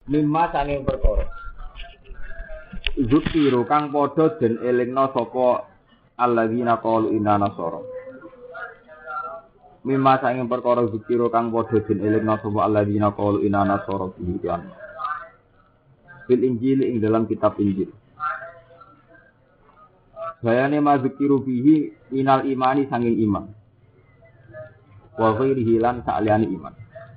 Mimma sanging perkara Zukiru kang padha den elingna sapa alladzina qalu inna nasara. Mimma sanging perkara zukiru kang padha den elingna sapa alladzina qalu inna nasara bihian. Fil Injil ing dalam kitab Injil. Bayane ma zukiru bihi minal imani sanging iman. Wa ghairihi lan saliyane iman.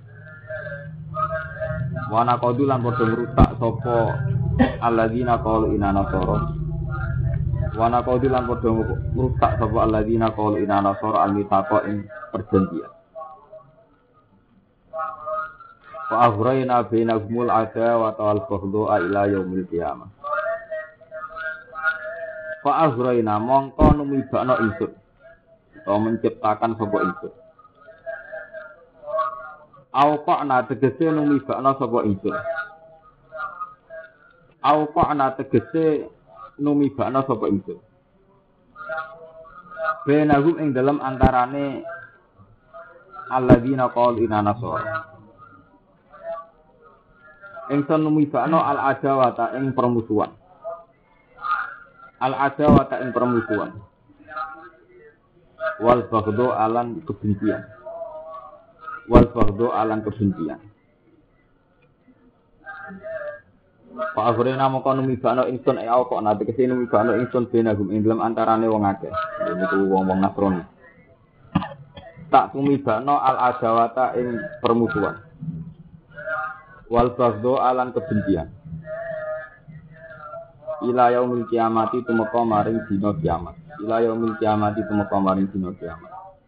Wa naqadu lan padha ngrusak sapa alladzina qalu inna nasara. Wa naqadu lan padha ngrusak sapa alladzina qalu inna nasara al-mithaqa ing perjanjian. Wa aghrayna bainahumul adawata wal baghdha ila yaumil qiyamah. Fa aghrayna mongko numibakno ingsun atau menciptakan sapa ingsun. Auqa'na tegese numibakno sapa ingsun. Auqa'na tegese numibakno sapa ingsun. Bainahum ing dalam antarane alladzina qalu inna nasara. Ingsun numibakno al-adawata ing permusuhan. Al-adawata ing permusuhan. Wal baghdha alan kebencian. Wal baghdha alan kebencian. Pak Aghrena moko numibakno ingsun kok nate kesini numibakno ingsun benagum ing dalem antarane wong akeh. Niku wong-wong Nasrani. Tak numibakno al-adawata ing permusuhan. Wal baghdha alan kebencian. Ila yaumil kiamati tumeka maring dina kiamat. Ila yaumil kiamati tumeka maring dina kiamat.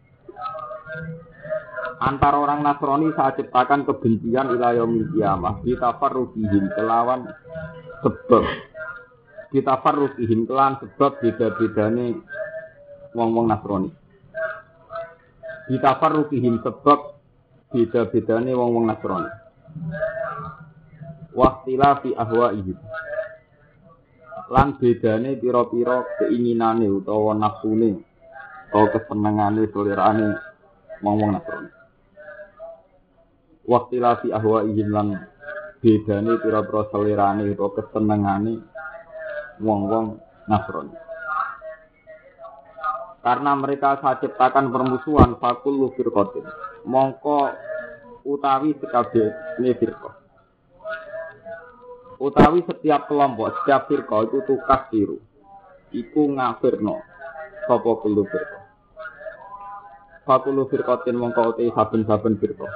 Antara orang Nasrani saat ciptakan kebencian ila yaumil kiamah. Ditafarruqihim kelawan sebab. Ditafarruqihim kelawan sebab beda-bedane wong-wong Nasrani. Ditafarruqihim sebab beda-bedane wong-wong Nasrani. Waqtilafi ahwa'ihim. Lan bedane pira-pira keinginane utawa nafsune utawa kesenengane selerane wong-wong Nasrani. Waqtilafi ahwa'ihim lan bedane pira-pira selerane utawa kesenengane wong-wong Nasrani. Karena mereka saat ciptakan permusuhan fakul firqatin. Mongko utawi sekabehane firqah. Utawi setiap kelompok, setiap firqah itu tukar tiru. Iku ngafirno sapa kulo firqah. Fakulu firqatin mongko uti saben-saben firqah.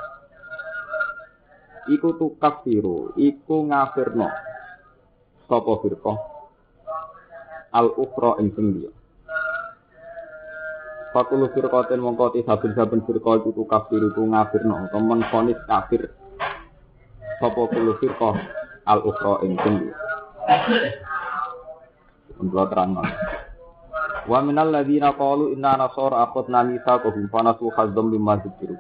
Iku tukar tiru, iku ngafirno sapa firqah. Al-ukhra ing sing liya. Fakulu firqatin mongko uti saben-saben firqah iku tukar tiru, iku ngafirno utawa menfonis kafir. Sapa kulo firqah al-ukhra ing sing untuk terang. Wa minal ladzina qalu inna nasara akhadna mitsaqahum fa nasu hazzam mimma dzikiru.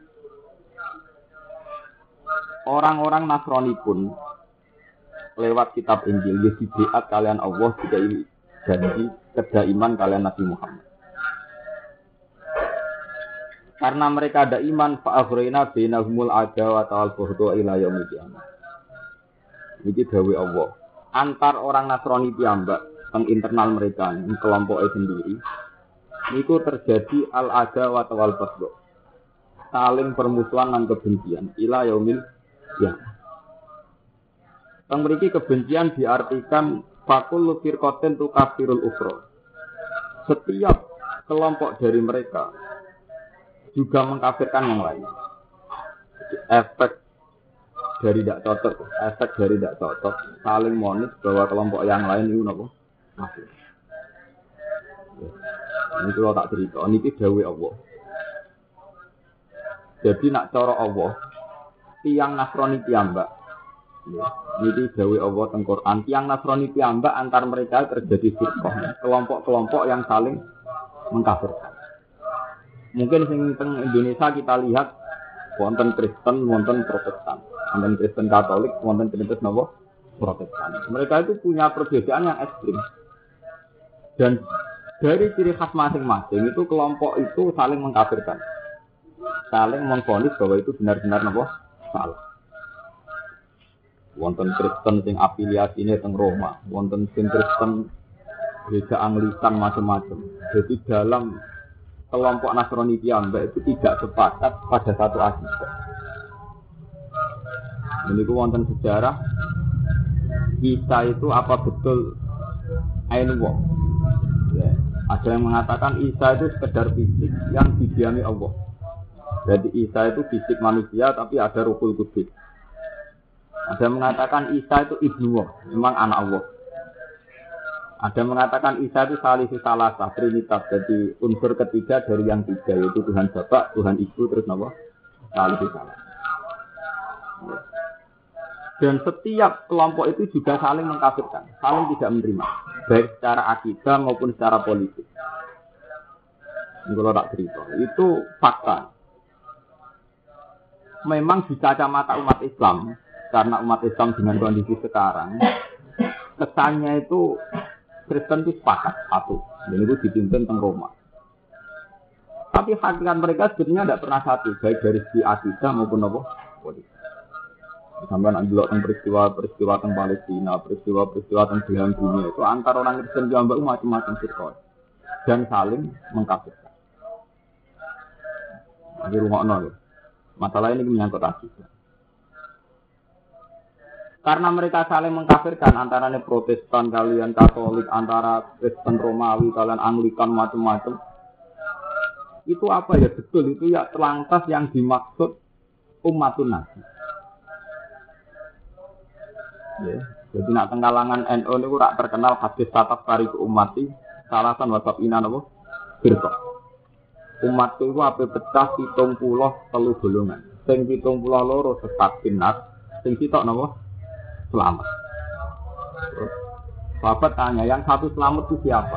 Orang-orang Nasrani pun lewat kitab Injil dibaiat kalian Allah jika ini janji kedaiman kalian Nabi Muhammad. Karena mereka ada iman fa aghrayna bainahumul adawata wal baghdha ila yaumil qiyamah. Ini dawuh Allah. Antar orang Nasrani piyambak teng internal mereka, kelompoknya sendiri, niku terjadi al-adawah wal baghdha. Saling permusuhan dan kebencian ila yaumil qiyamah. Teng mriki kebencian diartikan fakul firqatin tu kafirul ukhra. Setiap kelompok dari mereka juga mengkafirkan yang lain. Efek dari tidak cocok, efek dari tidak cocok, saling monis bahwa kelompok yang lain itu apa? Kafir. Ini kalau tak cerita, ini dawuh Allah. Jadi nak cara Allah, tiang Nasrani piyambak. Ini dawuh Allah teng Quran, tiang Nasrani piyambak antar mereka terjadi firqah, kelompok-kelompok yang saling mengkafirkan. Mungkin sing teng Indonesia kita lihat wonten Kristen, wonten Protestan. Wonten Kristen Katolik, wonten Kristen napa? Protestan. Mereka itu punya perbedaan yang ekstrim. Dan dari ciri khas masing-masing itu kelompok itu saling mengkafirkan. Saling memvonis bahwa itu benar-benar napa? Salah. Wonten Kristen sing afiliasine teng Roma, wonten sing Kristen gereja Anglikan macam-macam. Jadi dalam kelompok Nasrani piyambak itu tidak sepakat pada satu akidah. Ini ku wonten sejarah Isa itu apa betul Ainullah. Ya. Ada yang mengatakan Isa itu sekedar fisik yang didiami Allah. Jadi Isa itu fisik manusia tapi ada Ruhul Qudus. Ada yang mengatakan Isa itu Ibnu Allah, memang anak Allah. Ada yang mengatakan Isa itu salisu salasah, trinitas, jadi unsur ketiga dari yang tiga, yaitu Tuhan Bapa, Tuhan Ibu, terus nama salisu salasah. Dan setiap kelompok itu juga saling mengkafirkan, saling tidak menerima, baik secara akidah maupun secara politik. Ini kalau tak cerita, itu fakta. Memang di kacamata umat Islam, karena umat Islam dengan kondisi sekarang, kesannya itu Kristen itu sepakat satu, dan itu dipimpin teng Roma. Tapi hakikat mereka sebenarnya tidak pernah satu, baik dari segi akidah maupun apa politik. Sampai nak delok tentang peristiwa tentang Palestina, peristiwa tentang belahan dunia itu antara orang Kristen dan Mbak macam-macam sirkon dan saling mengkafirkan. Di rumah nol, masalah ini menyangkut akidah. Karena mereka saling mengkafirkan antara Protestan kalian Katolik, antara Kristen Romawi kalian Anglikan macam-macam. Itu apa ya betul itu ya terlantas yang dimaksud umatun nabi. Ya, jadi nak tenggalangan NU niku rak terkenal hadis tatap tariku umati salasan wasab inan apa? Firqa. Umat itu ape pecah 73 golongan. Sing 72 sesat finat, sing sitok napa? Selamat. Sahabat tanya, yang satu selamat itu siapa?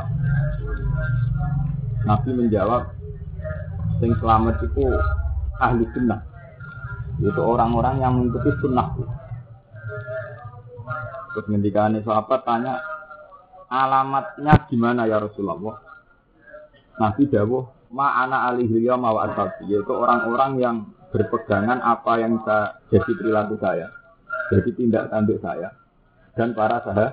Nabi menjawab, sing selamat itu ahli sunnah. Itu orang-orang yang mengikuti sunnah. Terus ngendikane sahabat tanya, alamatnya gimana ya Rasulullah? Nabi dawuh, ma'ana alihil yawma wa ashabi, yaitu orang-orang yang berpegangan apa yang jadi perilaku saya, jadi tindak tanduk saya dan para sahabat.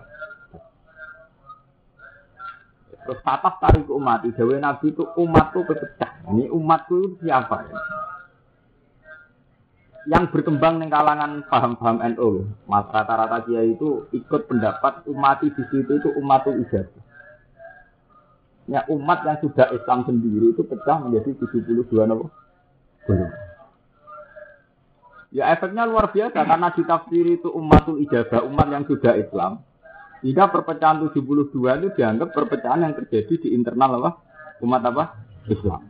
Terus tatap tarik umat, dawuh Nabi itu umatku pecah. Ini umatku itu siapa ya? Yang berkembang di kalangan paham-paham NU, mas rata-rata kiai itu ikut pendapat umat di situ itu umatul ijazah. Ya umat yang sudah Islam sendiri itu pecah menjadi 72 golongan. Ya efeknya luar biasa karena ditafsiri itu umatul ijazah, umat yang sudah Islam. Jika perpecahan 72 itu dianggap perpecahan yang terjadi di internal apa? Umat apa? Islam.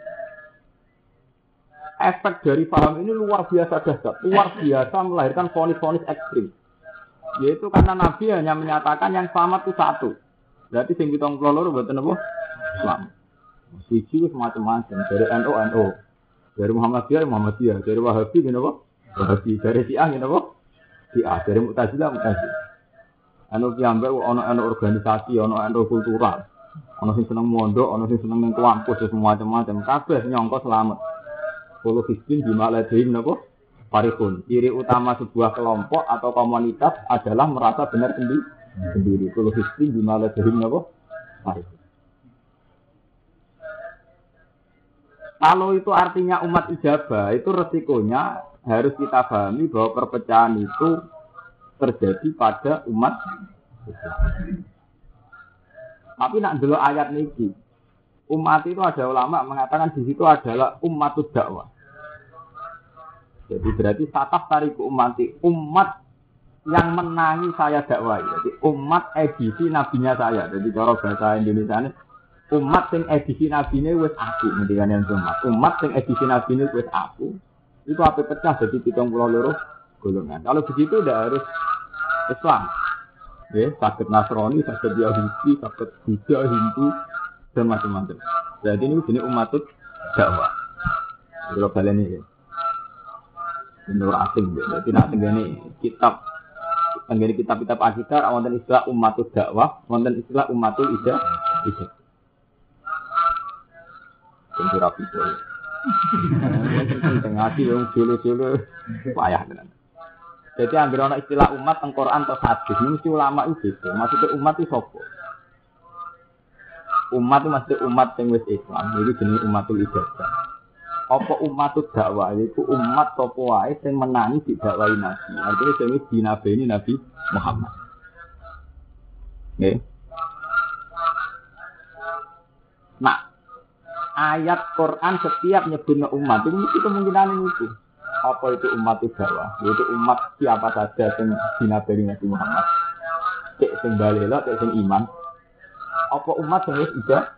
Efek dari paham ini luar biasa dahsyat, luar biasa melahirkan vonis-vonis ekstrim. Yaitu karena Nabi hanya menyatakan yang selamat itu satu. Berarti sing 72 mboten apa? Islam. Siji macam-macam, dari NU, dari Muhammadiyah, dari Wahabi ngene apa? Wahabi, dari Syiah ngene apa? Syiah, dari Mu'tazilah. Anu piyambak ana organisasi, ana kultural. Ana sing seneng mondok, ana sing seneng ning kampus, semua-macam kabeh nyangka selamat. Kalau hisbin bimaladhin napa? Farihun. Ciri utama sebuah kelompok atau komunitas adalah merasa benar sendiri. Kalau hisbin bimaladhin napa? Farihun. Kalau itu artinya umat ijabah, itu resikonya harus kita pahami bahwa perpecahan itu terjadi pada umat Islam. Tapi nak delok ayat niki, umat itu ada ulama mengatakan di situ adalah ummatud dakwah. Jadi berarti tataf tariku umat yang menangi saya dakwah. Jadi umat edisi nabinya saya. Jadi cara bahasa Indonesia ini umat yang edisi nabine wis aku, ngendikane umat yang edisi nabine wis aku. Itu apa pecah jadi 72 golongan. Kalau begitu udah harus Islam. Ya, sakit Nasrani, sakit Yahudi, sakit Buddha, Hindu dan macam-macam. Jadi ini jenis umatut dakwah. Kalau kalian ini menurut asing, jadi nak tenggani kitab-kitab akidah, wonten istilah umatut dakwah, wonten istilah umatul ijazah. Tentu rapi itu. Tengah hati yang julu-julu payah dengan. Jadi anggere ana istilah umat teng Quran atau hadis, mesti ulama itu beda. Maksudnya umat itu sapa? Umat itu maksudnya umat sing wis Islam, iki jenenge umatul ijazah. Apa umat dakwah yaiku umat sapa wae sing menangi didakwahi Nabi. Artinya sing wis dinabeni Nabi Muhammad. Nggih. Nah, ayat Quran setiap nyebutnya umat itu mesti kemungkinan itu. Apa itu umat dakwah? Yaitu umat siapa saja yang dinabeni Nabi Muhammad. Cek sing balela, cek sing iman. Apa umat yang wis ijazah?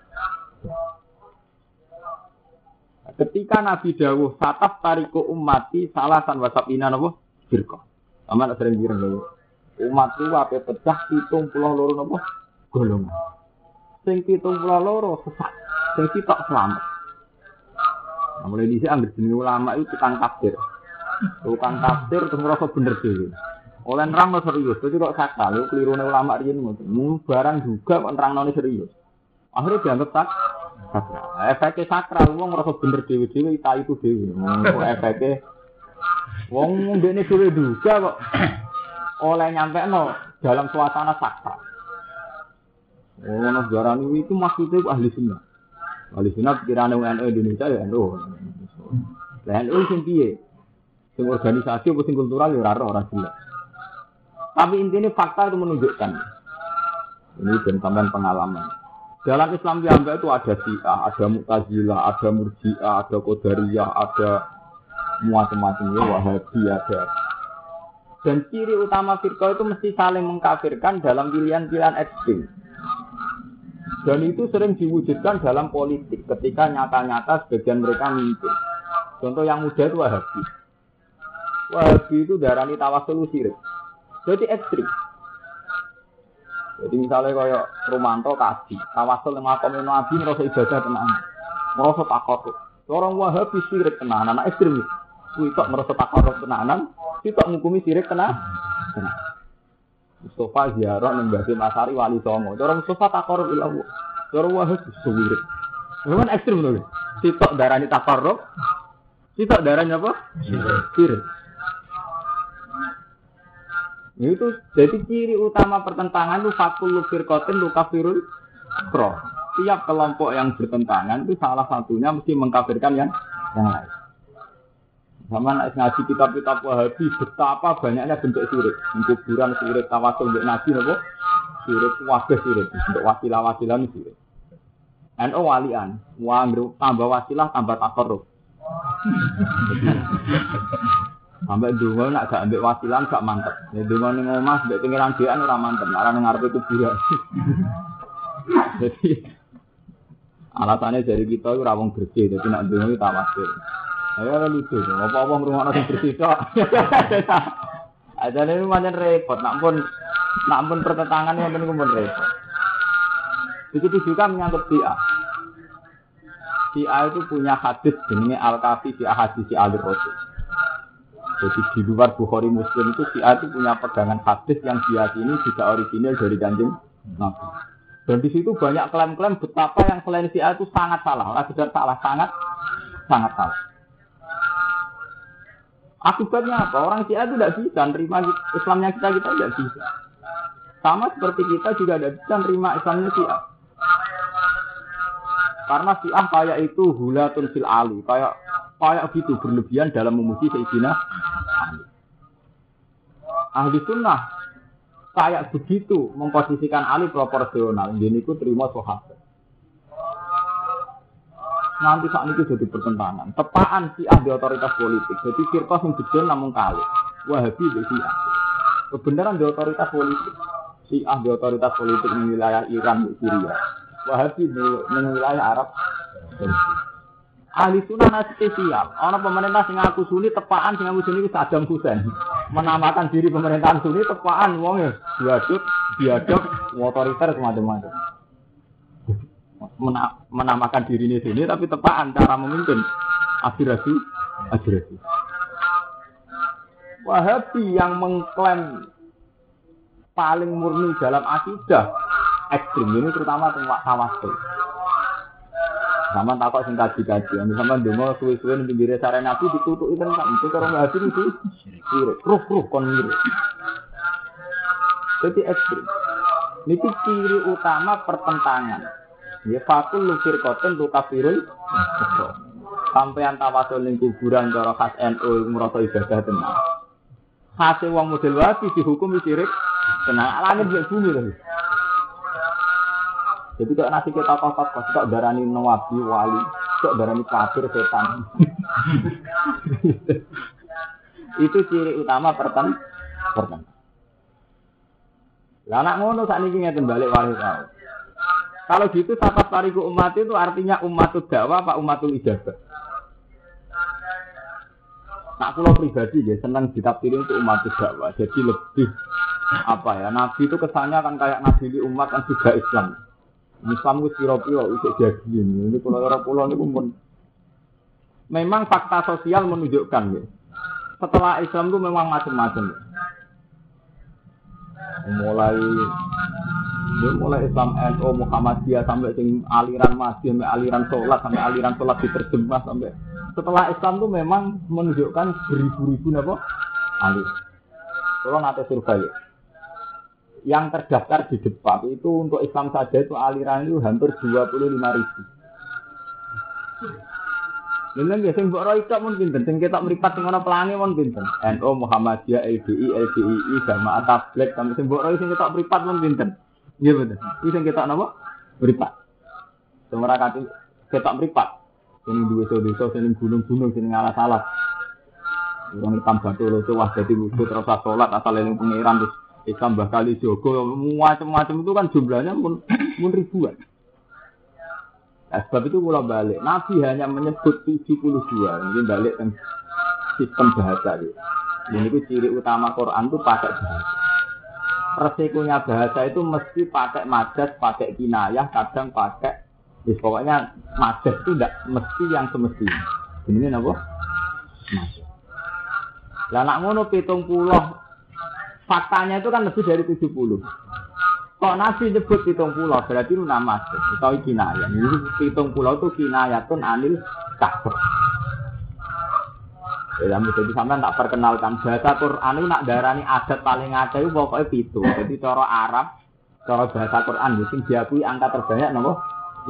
Ketika Nabi dawuh sataf tariku ummati salasan wasabina napa? Firqah. Aman sering bilang lho. Umatku ape pecah 72 napa? Golongan. Sing 72 sesat, sing sitok selamat. Nah, mulai dhisik anggere jenenge ulama itu tukang tafsir. Tukang tafsir terus ngerasa bener dhewe. Oleh nerangno serius, dadi kok sakral, lho klirune ulama riyen ngoten. Barang juga kok nerangnone serius. Akhirnya dianggap sakral. Efeknya sakral, wong ngerasa bener dhewe-dhewe ita itu dhewe. Kok efeknya wong ndekne dhewe juga kok oleh nyampekno dalam suasana sakral. Ono sejarah itu maksudnya ahli sunnah. Ahli sunnah pikirane NU Indonesia ya NU. Lah NU sing piye? Sing organisasi apa sing kultural ya ora jelas. Tapi intinya fakta itu menunjukkan. Ini dan tambahan pengalaman. Dalam Islam Piyambak itu ada Syiah, ada Mu'tazilah, ada Murji'ah, ada Qadariyah, ada macam-macam ya Wahabi ada. Dan ciri utama firqah itu mesti saling mengkafirkan dalam pilihan-pilihan ekstrim. Dan itu sering diwujudkan dalam politik ketika nyata-nyata sebagian mereka mimpin. Contoh yang muda itu Wahabi. Wahabi itu darani tawassul syirik. Jadi ekstrim. Jadi misalnya kaya Romanto kaji, tawassul yang makamnya Nabi merasa ibadah tenang, merasa takut. Orang Wahabi syirik tenanan, anak ekstrim. Kuitok merasa takut tenanan, kuitok ngukumi syirik tenang. Mustafa ziarah nembati Masari Wali Songo. Orang Mustafa takarrub ila Allah. Orang Wahabi syirik. Memang ekstrim loh. Kuitok darahnya takarrub, kuitok darahnya apa? Syirik. Itu jadi ciri utama pertentangan itu fakul firqatin lukafirul kro. Tiap kelompok yang bertentangan itu salah satunya mesti mengkafirkan yang lain. Sama ngaji kitab-kitab Wahabi betapa banyaknya bentuk syirik. Kuburan syirik, tawasul untuk Nabi napa? Syirik wabah syirik, bentuk wasilah-wasilah syirik. NU walian, tambah wasilah tambah takarruf. Sampai dulu nak gak ambil wasilan gak mantep. Ya dulu ning omah mbek pengiran dhewean ora mantep. Ora nang ngarepe kuburan. Jadi alasannya dari kita itu rawong bersih. Jadi nak dulu itu tawasul. Ayo lucu. Apa-apa ngrungokno sing bersih tok. Ajane itu macam repot. Nak pun pertentangan wonten niku pun repot. Begitu juga menyangkut Syiah. Syiah itu punya hadis jenenge Al-Kafi fi Ahadits Al-Rasul. Jadi di luar Bukhari Muslim itu Syiah itu punya pegangan hadis yang diyakini juga original dari Kanjeng Nabi. Dan di situ banyak klaim-klaim betapa yang selain Syiah itu sangat salah. Orang sudah salah, sangat salah. Akibatnya apa? Orang Syiah itu tidak bisa nerima Islamnya kita tidak bisa. Sama seperti kita juga tidak bisa nerima Islamnya Syiah. Karena Syiah kayak itu hulatun fil ali, kayak gitu berlebihan dalam memuji Sayyidina Ali. Ahli sunnah kayak begitu memposisikan Ali proporsional. Jadi itu terima sahabat. Nanti saat itu jadi pertentangan. Tepaan Syiah di otoritas politik. Jadi firqah yang betul namun kali. Wahabi di Syiah. Kebenaran di otoritas politik. Syiah di otoritas politik di wilayah Iran di Syria. Wahabi di wilayah Arab. Ahli sunnah nasib siap. Orang pemerintah sing ngaku Sunni tepaan sing ngaku Sunni itu Saddam Hussein. Menamakan diri pemerintahan Sunni tepaan wong ya biadab, otoriter semacam-macam. Menamakan diri ini Sunni tapi tepaan cara memimpin aspirasi. Wahabi yang mengklaim paling murni dalam akidah ekstrim ini terutama tawassul. Sama takok sing kaji-kaji, sama ndonga suwe-suwe ning pinggire sare Nabi ditutuki tenan, itu karo ngaji itu sirik, ruh kon mirip. Jadi ekstrim. Niki ciri utama pertentangan. Ya fakul lufir koten tu kafirul. Sampeyan tawasul ning kuburan cara khas NU merasa ibadah tenan. Khase wong model wapi dihukum sirik tenan langit mek bumi lho. Jadi kok nasi kita kok darani nabi wali, kok darani kafir setan. Itu ciri utama pertentangan. Lah anak ngono sakniki ngeten balik wali tau. Kalau gitu sahabat tariku umat itu artinya umatul dakwah apa umatul ijabah. Nak kula pribadi ya senang ditafsirin untuk umatul dakwah. Jadi lebih apa ya? Nabi itu kesannya kan kayak nabi umat kan juga Islam. Islam itu piro-piro isih jadi ini pulau niku pun memang fakta sosial menunjukkan ya. Setelah Islam itu memang macam-macam. Mulai Islam NU Muhammadiyah sampai sing aliran Masih sampai aliran sholat diterjemah sampai setelah Islam itu memang menunjukkan beribu-ribu apa aliran. Kalau nanti survei yang terdaftar di depan itu untuk Islam saja itu aliran itu hampir 25.000. Neneng ya sing mbok ro iso mun pinten, sing ketok mripat sing ana pelangi mun pinten. NU Muhammadiyah LDI LDII Jamaah Tabligh sampe sing mbok ro sing ketok mripat mun pinten. Nggih bener. Iki sing ketok napa? Mripat. Sing ora kate ketok mripat. Sing duwe desa sing gunung-gunung sing alas-alas. Wong hitam batu lho wah dadi wujud terus salat asal eling pangeran terus Islam bakal jogo macam-macam itu kan jumlahnya pun ribuan. Nah, sebab itu kalau balik, Nabi hanya menyebut 72. Ini balik ke sistem bahasa. Ini itu ciri utama Quran itu pakai bahasa. Resikonya bahasa itu mesti pakai majas, pakai kinayah, kadang pakai. Pokoknya majas itu tidak mesti yang semestinya. Ini apa? Majas. Lah nak ngono 70. Faktanya itu kan lebih dari 70. Kok Nabi nyebut 70 berarti itu nama atau kinayah. Ini 70 itu kinayatun anil kafir. Ya mesti sampean tak perkenalkan bahasa Quran itu nak darani adat paling akeh itu pokoknya 7. Jadi cara Arab, cara bahasa Quran sing diakui angka terbanyak napa?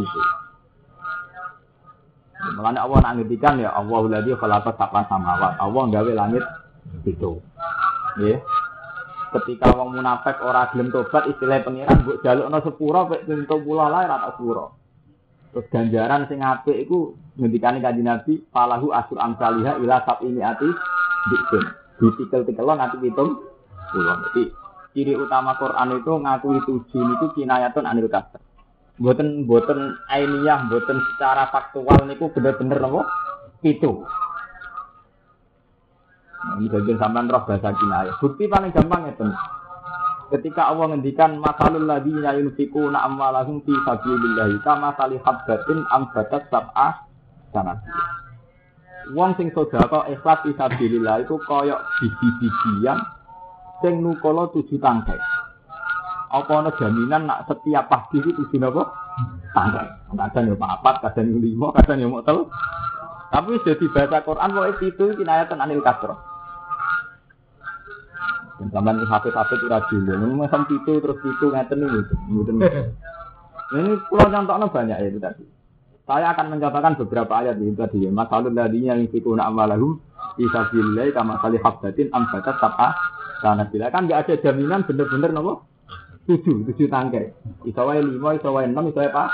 7. Mulane Allah nak ngendikan ya Allahul ladzi khalaqa sab'a samawat. Allah gawe langit 7. Nggih. Ketika wong munafik ora gelem tobat istilah pengiran mbok jalukno sepura pek 70 lae ra tak sepura. Terus ganjaran sing apik iku ngendikane Kanjeng Nabi falahu asur amsaliha ila sab'ini ati dikun. Ditikel-tikelon ati 70. Jadi ciri utama Quran itu ngakui 7 niku kinayatun anil kafir. Mboten ainiyah, mboten secara faktual niku bener-bener napa? 7. Ini bagian sampean roh bahasa kinayah. Bukti paling gampang itu. Ketika Allah ngendikan masalul ladzina yunfiquna amwalahum fi sabilillah kama sali habbatin ambatat sab'a sanati. Wong sing sedekah ikhlas fi sabilillah itu kaya biji-bijian sing nukala 7 tangkai. Apa ana jaminan nak setiap pagi itu 7 napa? Tangkai. Kadang yo 4, kadang yo 5, kadang yo mok 3. Tapi jadi bahasa Quran kok itu kinayatan anil kasroh. Zaman hafid-hafid ora dhewe, macam itu terus itu ngeten iki. Ini pulau contohnya banyak ya itu tadi. Saya akan mencontohkan beberapa ayat itu tadi. Masalul ladzina yunfiquna amwalahum fi sabilillah kama sali habbatin ambatat sab'a sanabila. Kan enggak ada jaminan bener-bener napa? 7 tangkai. Iso wae 5, iso wae 6, iso wae apa?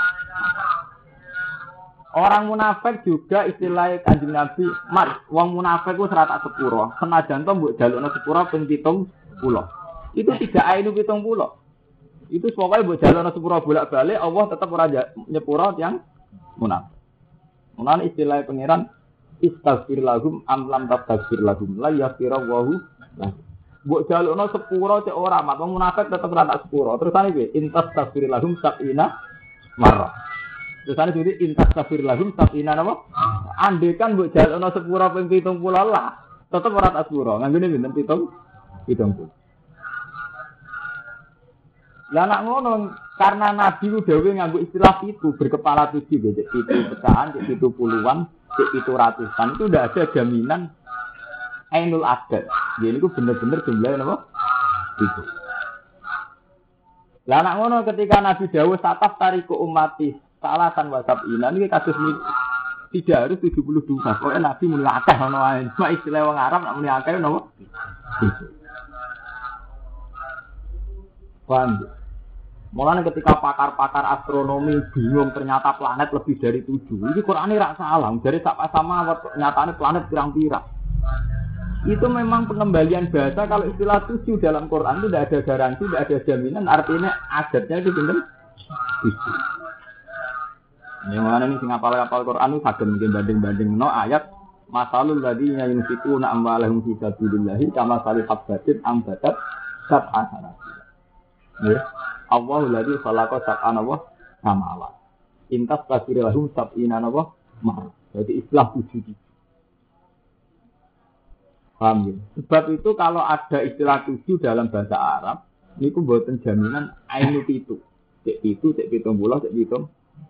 Orang munafik juga istilah Kanjeng Nabi, mat, wong munafik ku serata sepuro. Senajan to mbok jalukno sepuro ping 70. Itu tidak ainu 70. Itu pokoke mbok jalukno sepuro bolak-balik Allah tetap ora nyepuro yang munafik. Mulane istilah pangeran istaghfir lahum am lam tastaghfir lahum la yaghfiru Allahu lahum. Mbok jalukno sepuro cek ora mat wong munafik tetap ora tak sepuro. Terus ane piye? Intastaghfir lahum sab'ina marrah. Terus ane jadi intastaghfir lahum sab'ina napa? Andekan mbok jalukno sepuro ping 70 lah, tetep ora tak sepuro. Nganggone pinten 70. Lah nak ngono karena Nabi ku dhewe nganggo istilah itu berkepala 7 cek itu pecahan, cek itu puluhan, cek itu ratusan itu udah ada jaminan ainul adad. Jadi itu bener-bener jumlahnya apa? Itu. Lah nak ngono ketika Nabi dawuh sataf tariku umati salasan wasab inan iki kados tidak harus 72. Pokoke Nabi muni akeh ono wae. Cuma istilah wong Arab nak muni akeh napa? Paham? Mulane ketika pakar-pakar astronomi bingung ternyata planet lebih dari 7. Ini Qur'ane ra salah. Dari sama nyatane planet pirang-pirang. Itu memang pengembalian bahasa kalau istilah 7 dalam Quran itu tidak ada garansi, tidak ada jaminan, artinya adatnya itu benar 7. Yang mana ini sing apal-apal Quran itu saged mungkin banding-banding no ayat masalul ladzina yunfiquna amwalahum fi sabilillah kama salih habbatin ambatat sab'a sanati. Ya. Allahul ladzi khalaqa sab'ana wa samawat. Intas tasirahum sab'ina wa ma. Jadi istilah 7. Paham ya? Sebab itu kalau ada istilah 7 dalam bahasa Arab, ini ku mboten jaminan ainu itu. Cek itu, cek 70, cek 7.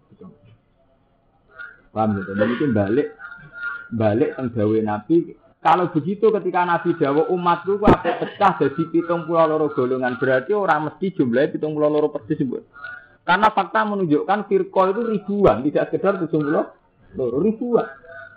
Paham ya? Dan itu balik teng dawuh Nabi. Kalau begitu ketika Nabi dawuh umatku ku ape pecah dadi 72 golongan, berarti orang mesti jumlahnya 72 persis, Bu. Karena fakta menunjukkan firqah itu ribuan, tidak sekedar 72 ribuan.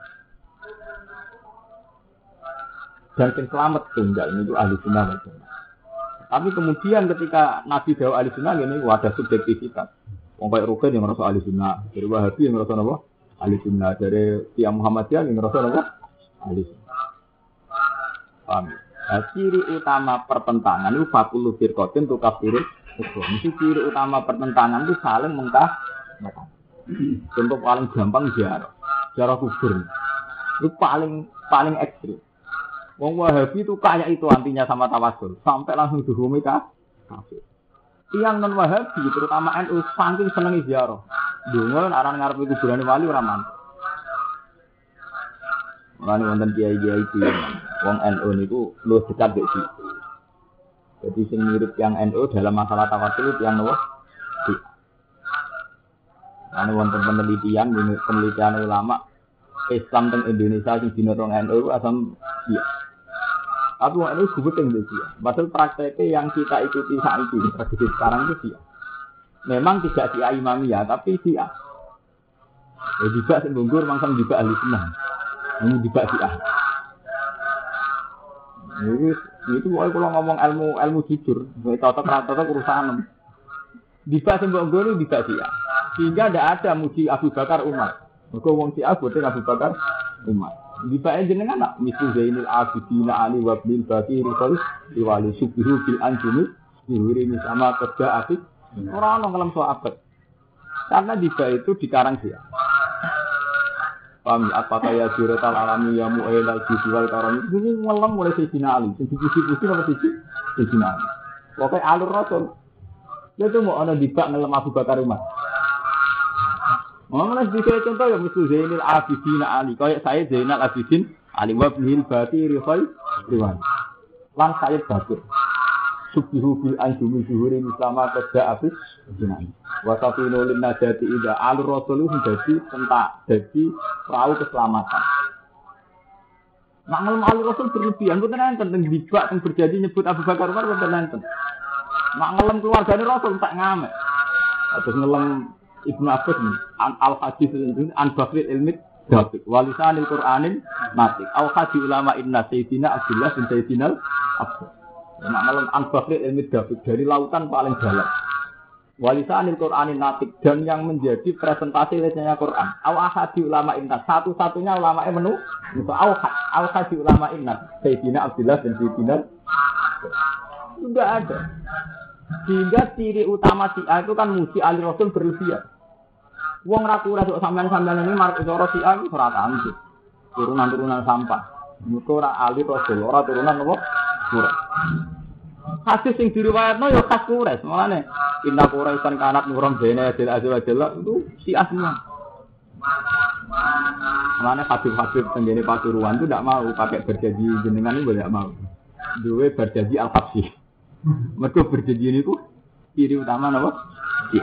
Dan yang selamat tunggal itu ahli sunnah wal jamaah. Tapi kemudian ketika Nabi dawuh ahli sunnah ini wadah subjektivitas. Wong kaya Rukin yang ngerasa ahli sunnah, dari Wahabi yang ngerasa apa? Ahli sunnah, dari Tiang Muhammadiyah yang ngerasa apa? Ahli sunnah. Paham? Nah, ciri utama pertentangan itu fakulu firqatin tukafirul ukhra. Itu ciri utama pertentangan itu saling mentah. Contoh paling gampang ziarah kubur. Itu paling ekstrim. Wong Wahabi itu kayak itu antinya sama tawasul, sampai langsung dihukumi kafir. Tiang non Wahabi terutama NU saking senengi ziarah. Dungo aran ngarepe kuburane wali ora mantep. Mulane wonten kiai-kiai iki wong NU niku luwih dekat mek situ. Jadi sing mirip yang NU dalam masalah tawasul itu yang nopo? Ane wonten penelitian ulama Islam teng Indonesia sing dinotong NU asam iya. Tapi ini gubeting dia. Padahal prakteknya yang kita ikuti saat ini, tradisi sekarang itu dia. Memang tidak dia imamiyah, tapi dia. Ya juga sembungkur, mangsang juga ahli sunnah. Ini juga dia. Itu pokoknya kalau ngomong ilmu jujur, cocok urusan. Juga sembungkur itu juga dia. Sehingga tidak ada muji Abu Bakar Umar. Maka wong si Abu Bakar Umar. Dibae jenengan nak misu Zainul Abidin Ali wa bil Baqir riwali subhu bil anjumi diwiri sama kerja apik ora ono ngelam sahabat. Karena dibae itu dikarang dia. Paham apa kaya siratal alami ya mu'ilal jiwal karam itu ngelam mulai Sayyidina Ali. Sing dipuji-puji nomor 1 Sayyidina Ali. Pokoke alur Rasul. Dia tuh mau ana dibak ngelam Abu Bakar Umar. Mengenai sedikit contoh yang misalnya Zainul Abidin Ali, kayak saya Zainal Abidin Ali wabnil Baqir riwan. Lan saya Baqir. Subhihu bil anjumi zuhuri mislama kerja abis jenang. Wasafinu lin najati ida alur Rasul menjadi jadi perahu keselamatan. Nak ngelem alur Rasul berlebihan, bukan enten tentang dibak yang berjanji nyebut Abu Bakar Umar bukan enten. Nak ngelem keluargane Rasul tak ngamek. Terus ngelem Ibnu Abbas al-hadis an Bakri ilmi Dafiq walisanil Qur'anil natik al-hadis ulama inna Sayyidina Abdullah bin Sayyidina Abbas maknanya an Bakri ilmi Dafiq dari lautan paling dalam walisanil Qur'anil natik dan yang menjadi presentasi lisannya Quran al-hadis ulama inna satu-satunya ulama menu itu al-hadis ulama inna Sayyidina Abdullah bin Sayyidina sudah ada. Sehingga ciri utama Syiah itu kan muji Ali Rasul berlebihan. Wong ra kurang sok sampean-sampean ini marek cara Syiah iki ora kanthi. Turunan-turunan sampah. Muga ora Ali Rasul, ora turunan apa? Kurang. Hadis sing diriwayatno ya khas Quraisy. Mulane inna Quraisan kanat nurum bene adil azwajalla itu Syiah semua. Mulane hadis-hadis tenggene Pasuruan itu ndak mau pakai berjanji jenengan itu ndak mau. Duwe berjanji al-habsyi. Mereka berjanji ini ku ciri utama apa? Iya.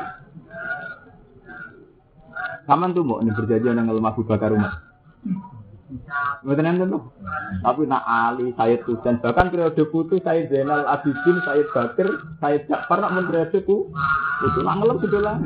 Saman tuh mau berjanji nang lemah Abu Bakar Umar. Betul enten tuh. Tapi nak Ali, Sayyid Husain, bahkan periode putu Sayyid Zainal Abidin, Sayyid Bakir, Sayyid Ja'far nak mun periode putu nak ngelem sedolah.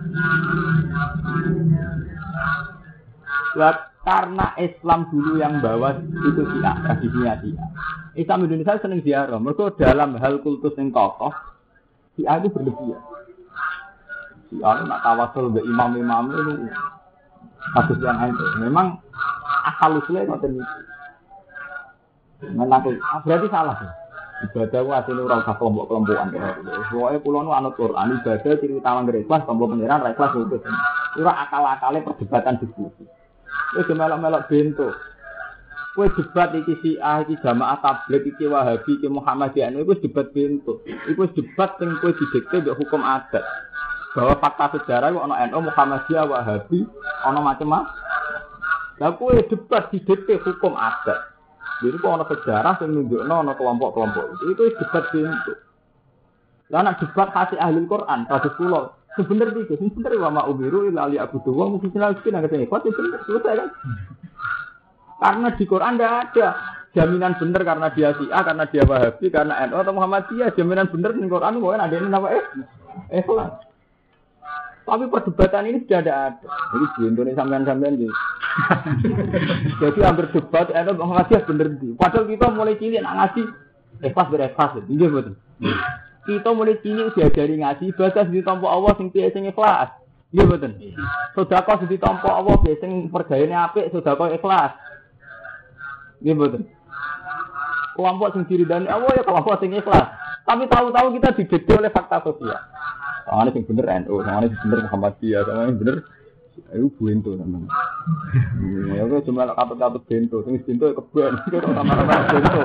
Karena Islam dulu yang bawa itu Syiah, tradisinya Syiah. Islam Indonesia seneng ziarah. Mereka dalam hal kultus yang kokoh, Syiah itu berlebihan. Syiah nak tawasul ke imam-imam itu kasus yang itu. Memang asal usulnya ngoten iki. Menang berarti salah ya. Ibadah ku asline ora usah kelompok-kelompokan. Pokoke kula nu anut Quran ibadah ciri utama ikhlas tombol pengiran ra ikhlas itu. Ora akal-akale perdebatan diskusi. Wis melok-melok bento. Kowe debat iki Syiah, iki Jamaah Tabligh, iki Wahabi, iki Muhammadiyah, iku debat bento. Iku debat sing kowe didikte mbek hukum adat. Bahwa fakta sejarah iku ana NU, Muhammadiyah, Wahabi, ana macam-macam. Lah kowe debat didikte hukum adat. Jadi kok ana sejarah sing nunjukno ana kelompok-kelompok. Itu debat bento. Lah nek debat kasih ahli Quran, kados kula sebenarnya itu, sebenarnya wa ma'ubiru illa liya'budu wa mukhlisina lahu din. Kok bener selesai kan? Karena di Quran tidak ada jaminan benar karena dia Syiah, karena dia Wahabi, karena NU atau Muhammadiyah. Jaminan benar di Quran mungkin ada ini apa ikhlas. Tapi perdebatan ini sudah ada. Jadi di Indonesia sampean-sampean gitu. Jadi hampir debat NU Muhammadiyah bener di. Padahal kita mulai cilik nak ngaji ikhlas berikhlas. Nggih betul. Kita mulai cilik diajari ngaji ibadah ditampa Allah sing piye sing ikhlas. Nggih mboten. Sedekah ditampa Allah piye sing pergayane apik, sedekah ikhlas. Nggih mboten. Kelompok sing diridani Allah ya kelompok sing ikhlas. Tapi tahu-tahu kita dididik oleh fakta sosial. Sangane sing bener NU, sangane sing bener Muhammadiyah, sangane sing bener ayo bento sampean. Ya kok cuma katut-katut bento, sing bento keben, kok sama-sama bento.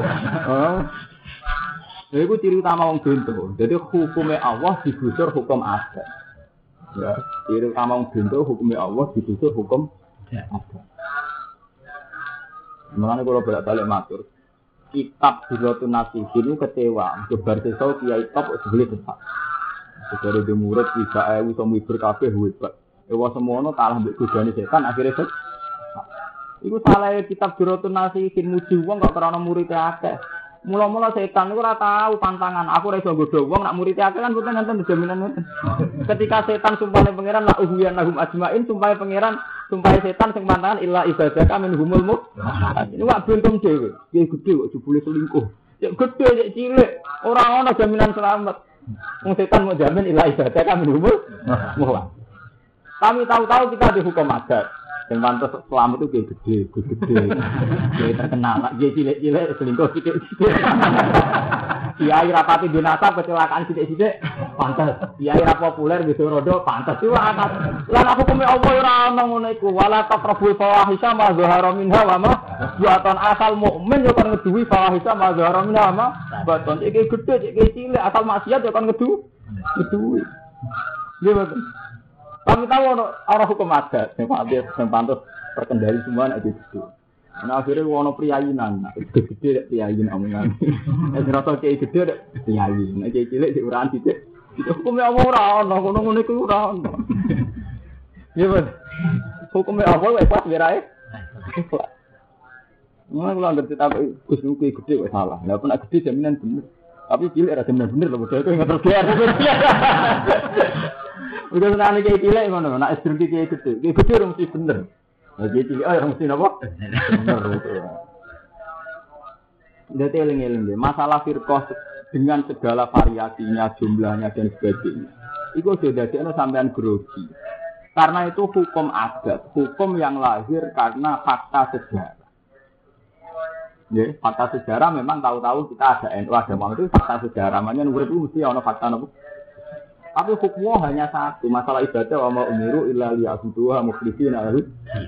Lha iku ciri utama wong bento. Jadi hukume Allah digusur hukum adat. Ya, ciri utama wong bento hukume Allah digusur hukum adat. Mulane kula bolak-balik matur. Kitab Durratun Nasihin kecewa, gebar sesau kiai top sebeli desak. Dari di murid bisa iso mibur kabeh hebat. Ewa semono kalah mbek godane setan akhire set. Iku salah kitab Durratun Nasihin muji wong kok karena murid akeh. Mula-mula setan niku ora tahu pantangan. Aku ora iso nggodho wong nak murid akeh kan mboten enten jaminan ngoten. Ketika setan sumpahane pangeran la uhyan lahum ajmain, sumpah pangeran, sumpah setan sing pantangan illa ibadaka minhumul mu. Ini wak bentum dhewe. Ki gedhe kok jebule selingkuh. Ya gedhe cek cilik, ora ana jaminan selamat. Wong setan mau jamin illa ibadaka minhumul mu. Kami tahu-tahu kita dihukum adat. Yang pantas selamat itu gede. Dia terkenal, dia cilik-cilik selingkuh sidik-sidik. Kiai rapati dinasab kecelakaan sidik-sidik, pantas. Kiai rap populer gitu rodo, pantas. Itu akan. Lan aku kumi Allah ora ana ngono iku. Wala taqrabul fawahisha ma zahara minha wa ma buatan asal mukmin yo kan ngeduwi fawahisha ma zahara minha ma baton. Iki gede, iki cilik, asal maksiat yo kan ngeduwi. Nggih betul. Kami tahu orang hukum adat, yang pantas terkendali semua nak gitu. Nah akhirnya orang priayinan, gede priayin omongan. Rasa kayak gede priayin, kayak cilik di uran cilik. Hukumnya apa orang, ngono itu orang. Iya betul. Hukumnya apa? Ikhlas berai. Ikhlas. Mana kalau ngerti tapi kusnuki gede salah. Nggak pernah gede jaminan bener. Tapi cilik ada jaminan bener loh. Betul itu nggak terbiar. Udah senang kayak cilik mana? Nak istri kayak gede, kayak gede orang mesti bener. Kayak cilik, orang mesti apa? Bener itu. Jadi eling-eling deh. Masalah firqah dengan segala variasinya, jumlahnya dan sebagainya. Itu sudah jadi sampean grogi. Karena itu hukum adat, hukum yang lahir karena fakta sejarah. Ya, fakta sejarah memang tahu-tahu kita ada NU, ada Muhammad itu fakta sejarah. Makanya nomor itu mesti ada fakta nopo. Tapi hukumnya hanya satu, masalah ibadah wa ma umiru illa liya'buduha mukhlishina lahu.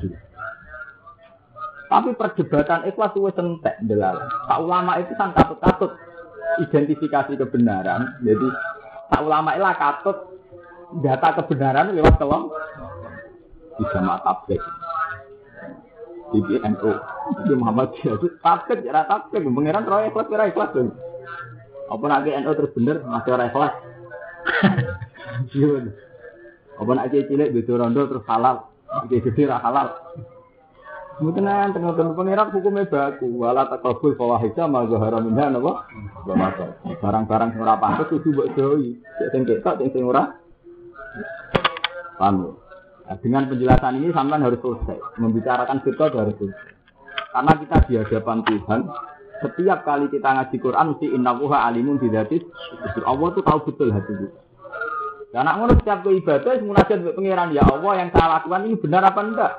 Tapi perdebatan ikhlas wis entek ndelala. Pak ulama itu kan katut-katut identifikasi kebenaran. Jadi pak ulama ilah katut data kebenaran lewat kelom di Jamaah Tabligh. Di NU, di Muhammadiyah itu tabligh ora tabligh, pangeran ora ikhlas ora ikhlas. Apa nek NU terus bener masih ora ikhlas. Iya. Apa nak cilik beda rondo terus halal. Gede ra halal. Mboten tengok-tengok pangeran hukume baku. Wala taqabul fawahisha ma zahara minha napa? Barang-barang sing ora pantes kudu mbok jauhi. Sing ketok sing ora. Paham? Nah, dengan penjelasan ini sampean harus selesai. Membicarakan fiqh harus selesai. Karena kita di hadapan Tuhan, setiap kali kita ngaji Quran mesti innallaha alimun bidzatis. Allah tuh tahu betul hati kita. Karena ngono setiap ibadah munajat mbek pangeran, ya Allah yang saya lakukan ini benar apa enggak?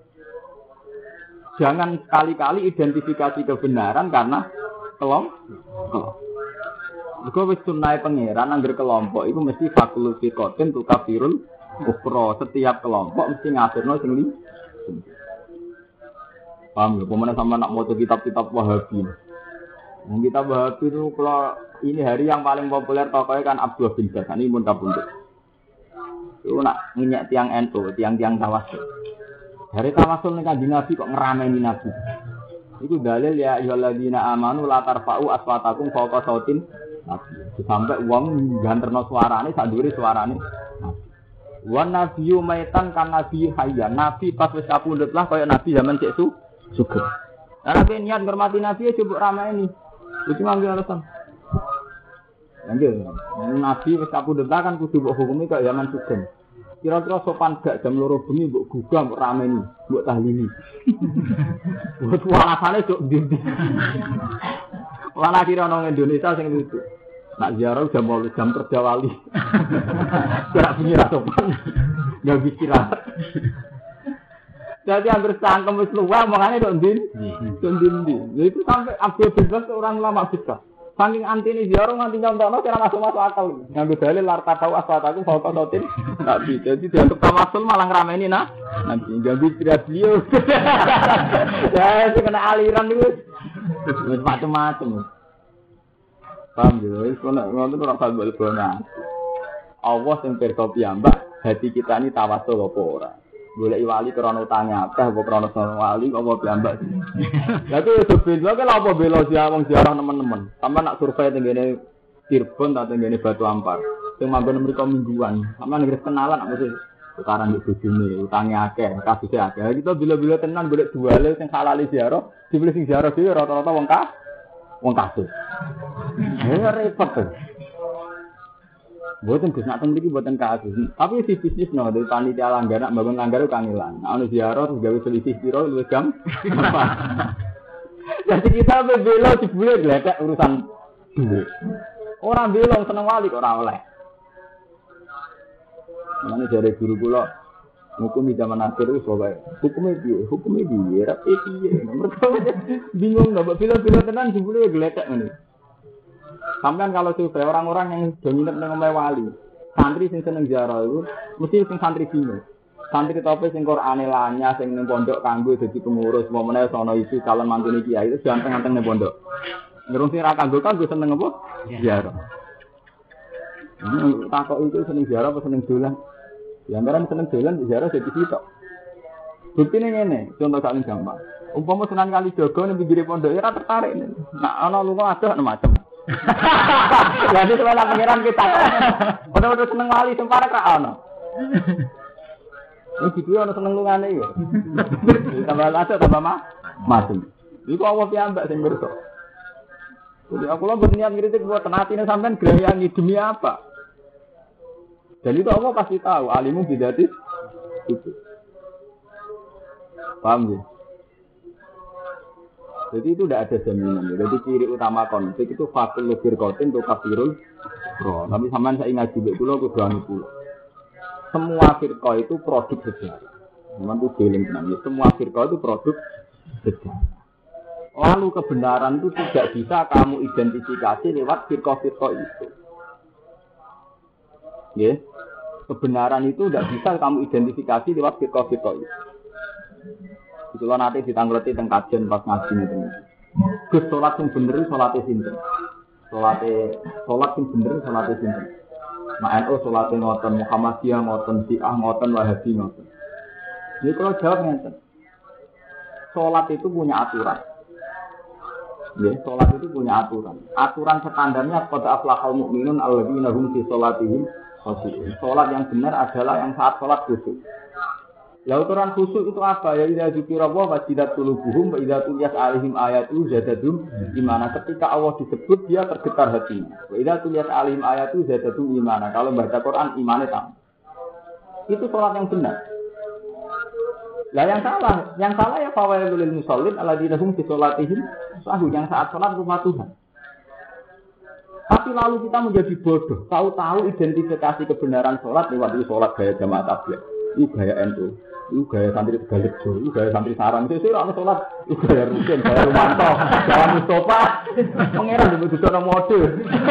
Jangan sekali-kali identifikasi kebenaran karena kelompok. Jika wis sunnahe pangeran angger kelompok itu mesti fakul fiqatin tu kafirul kufra. Setiap kelompok mesti ngafirno sing li. Paham ya? Pemana sama nak maca kitab-kitab Wahabi. Kitab Wahabi itu kalau ini hari yang paling populer tokohnya kan Abdullah bin Bas. Ini pun kabundut. Itu nak minyak tiang NU, tiang-tiang tawasul. Dari tawasul nih Kanjeng Nabi kok ngerameni Nabi. Itu dalil ya ayyuhalladzina amanu la tarfa'u aswatakum fawqa sautin Nabi. Sampai wong ganterno suarane sak dhuwure suarane Nabi. Wan nabiyyu maitan kan nabi hayya. Nabi pas wis kapundhut lah kaya nabi zaman cek sugih. Lah nek niat ngurmati nabi ya coba ramai ini. Itu mangke alasan. Lanjut. Nabi wis kapundhut kan kudu mbok hukumi kaya zaman sugih. Kira-kira sopan gak jam 2 bengi mbok gugah mbok rameni, mbok tahlili. Buat alasane cok ndi. Wala kira nang Indonesia sing lucu. Nak ziarah jam kerja wali. Gerak bunyi sopan. Enggak bicara. Jadi hampir sangkem wis luwih omongane kok ndin. Itu sampai Abdul Bebas orang lama besar. Saking antine ziarah nganti nyontokno cara masuk akal. Nganggo dalil lar tahu aswataku fauqa sautin. Enggak bisa. Jadi dianggap tawasul malah ngrameni nanti enggak bicara beliau. Ya, kena aliran itu. Wis macam-macam. Paham ya, wis ngono ora usah mbok-mbokna. Allah sing pirsa piyambak, hati kita ini tawasul apa ora. Golek wali krana utange akeh apa krana sono wali apa piyambak. Lah ku yo beda kok apa bela wong ziarah teman-teman. Sampe nak survei tenggene Cirebon ta tenggene Batu Ampar. Sing manggon mriko mingguan. Sampe nek kenalan aku sih tukaran di bojone, utange akeh, kasuse akeh. Kita bila-bila tenan golek duale sing halal ziarah, dibeli sing ziarah dhewe rata-rata wong kasus. Ya repot tuh. Buatan Gus nak teng mriki buatan kasus. Tapi si bisnis no dari panitia langgar nak bangun langgar itu kangelan. Nah, ono ziarah terus gawe selisih piro luwih jam. Jadi kita bela jebule gledek urusan duit. Orang belong seneng wali kok ora oleh. Mane jare guru kula hukum di zaman akhir itu soalnya hukumnya piye rapi piye mereka bingung nggak bila tenan jebule gledek ngene. Sampean kalau survei orang-orang yang dominan dengan wali, santri sing seneng ziarah itu mesti sing santri bingung. Santri tope sing Qur'ane lanya sing ning pondok kanggo dadi pengurus, momene sono isi calon mantune kiai itu ganteng-ganteng ning pondok. Ngerung sing ra kanggo seneng apa? Ziarah. Takok itu seneng ziarah apa seneng dolan? Ya mereka seneng dolan ziarah dadi sitok. Buktine ngene, contoh sak gampang. Umpama Sunan Kalijaga ning pinggir pondok ora tertarik. Nak ana lunga adoh macam. Jadi sebenarnya pengiran kita, udah seneng wali sempara kak ono. Ini gitu ono seneng lungane ya. Tambah aja tambah masuk. Iku awal piambak sing berso. Jadi aku lo berniat ngiritik buat tenatine sampean gerayangi demi apa? Dan itu Allah pasti tahu. Alimu bidatis itu. Paham ya? Jadi itu tidak ada jaminan. Jadi ciri utama konflik itu fakul lebir kotin untuk kafirul bro. Tapi sampean saya ingat juga dulu aku doang itu. Semua firqah itu produk sejarah. Memang itu feeling namanya. Semua firqah itu produk sejarah. Lalu kebenaran itu tidak bisa kamu identifikasi lewat firqah-firqah itu. Ya, kebenaran itu tidak bisa kamu identifikasi lewat firqah-firqah itu. Itulah nanti ditanggleti teng kajian pas ngaji niku. Gus salat sing bener salate sinten? Salat sing bener salate sinten? Mak NU salate ngoten, Muhammadiyah ngoten, Syiah ngoten, Wahabi ngoten. Jadi kalau jawab ngeten. Salat itu punya aturan. Ya, sholat itu punya aturan. Aturan standarnya qad aflahal mu'minun alladzina hum fi sholatihim khashi'un. Sholat yang benar adalah yang saat sholat khusyuk. Lah aturan khusyuk itu apa? Ya idza dzikirallah wajilat qulubuhum wa idza tuliyat alaihim ayatu zadadum imana. Ketika Allah disebut dia tergetar hatinya. Wa idza tuliyat alaihim ayatu zadadum imana. Kalau baca Quran imannya tambah. Itu sholat yang benar. Lah yang salah ya fawailul lil musallin alladzina hum fi sholatihim sahun, yang saat sholat lupa Tuhan. Tapi lalu kita menjadi bodoh, tahu-tahu identifikasi kebenaran sholat lewat itu sholat gaya jamaah tabligh, itu gaya NU, itu gaya santri Tegalrejo, itu gaya santri Sarang, itu orang sholat, itu gaya Rukin, gaya Rumanto, gaya Mustafa, pangeran juga sudah mode.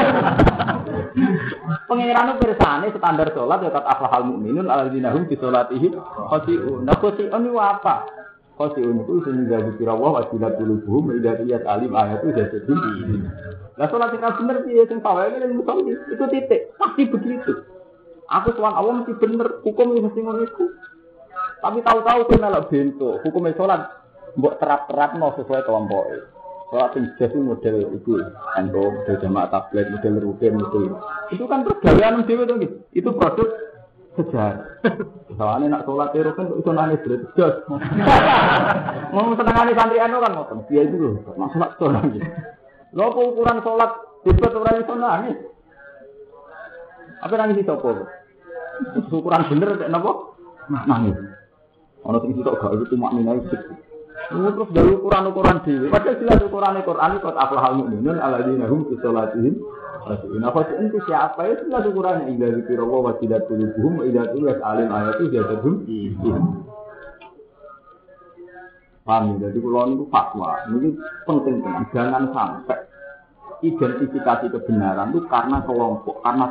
Pangeran itu bersane standar sholat ya kata aflahal mu'minun alladzina hum fi sholatihim khashi'un. Nah khashi'un itu apa? Khashi'un itu sehingga dzikirallah wajilat qulubuhum idza tuliyat alim ayatu zadadum. Lah sholat sing bener piye sing pawene ning musolli itu titik pasti begitu. Aku sowan Allah mesti bener, hukum mesti ngono iku. Tapi tahu-tahu kowe melok bento, hukume sholat mbok terap-terapno sesuai kelompoke. Sholat yang jelas itu model itu, model jamaah tabligh, model rutin, model itu kan pergaulan dewe tuh, itu produk sejarah. Soalnya nak sholat rutin itu nangis jelas. Mau senengane santri anu kan ngoten, dia itu loh, nak sholat gitu. Lo ukuran sholat debat orang itu nangis. Apa nangis itu apa? Ukuran bener, kenapa? Nangis. Orang itu gak itu cuma minai sedikit. Terus dari ukuran-ukuran dhewe. Padahal jelas ukuran Quran itu aflahal mu'minun alladzina hum fi sholatihim khashi'un. Apa itu siapa ya jelas ukurannya idza dzikirallah wa wajilat qulubuhum wa idza tuliyat alim ayatu zadadum iman. Paham ya? Jadi kalau itu fatwa, ini penting teman. Jangan sampai identifikasi kebenaran itu karena kelompok, karena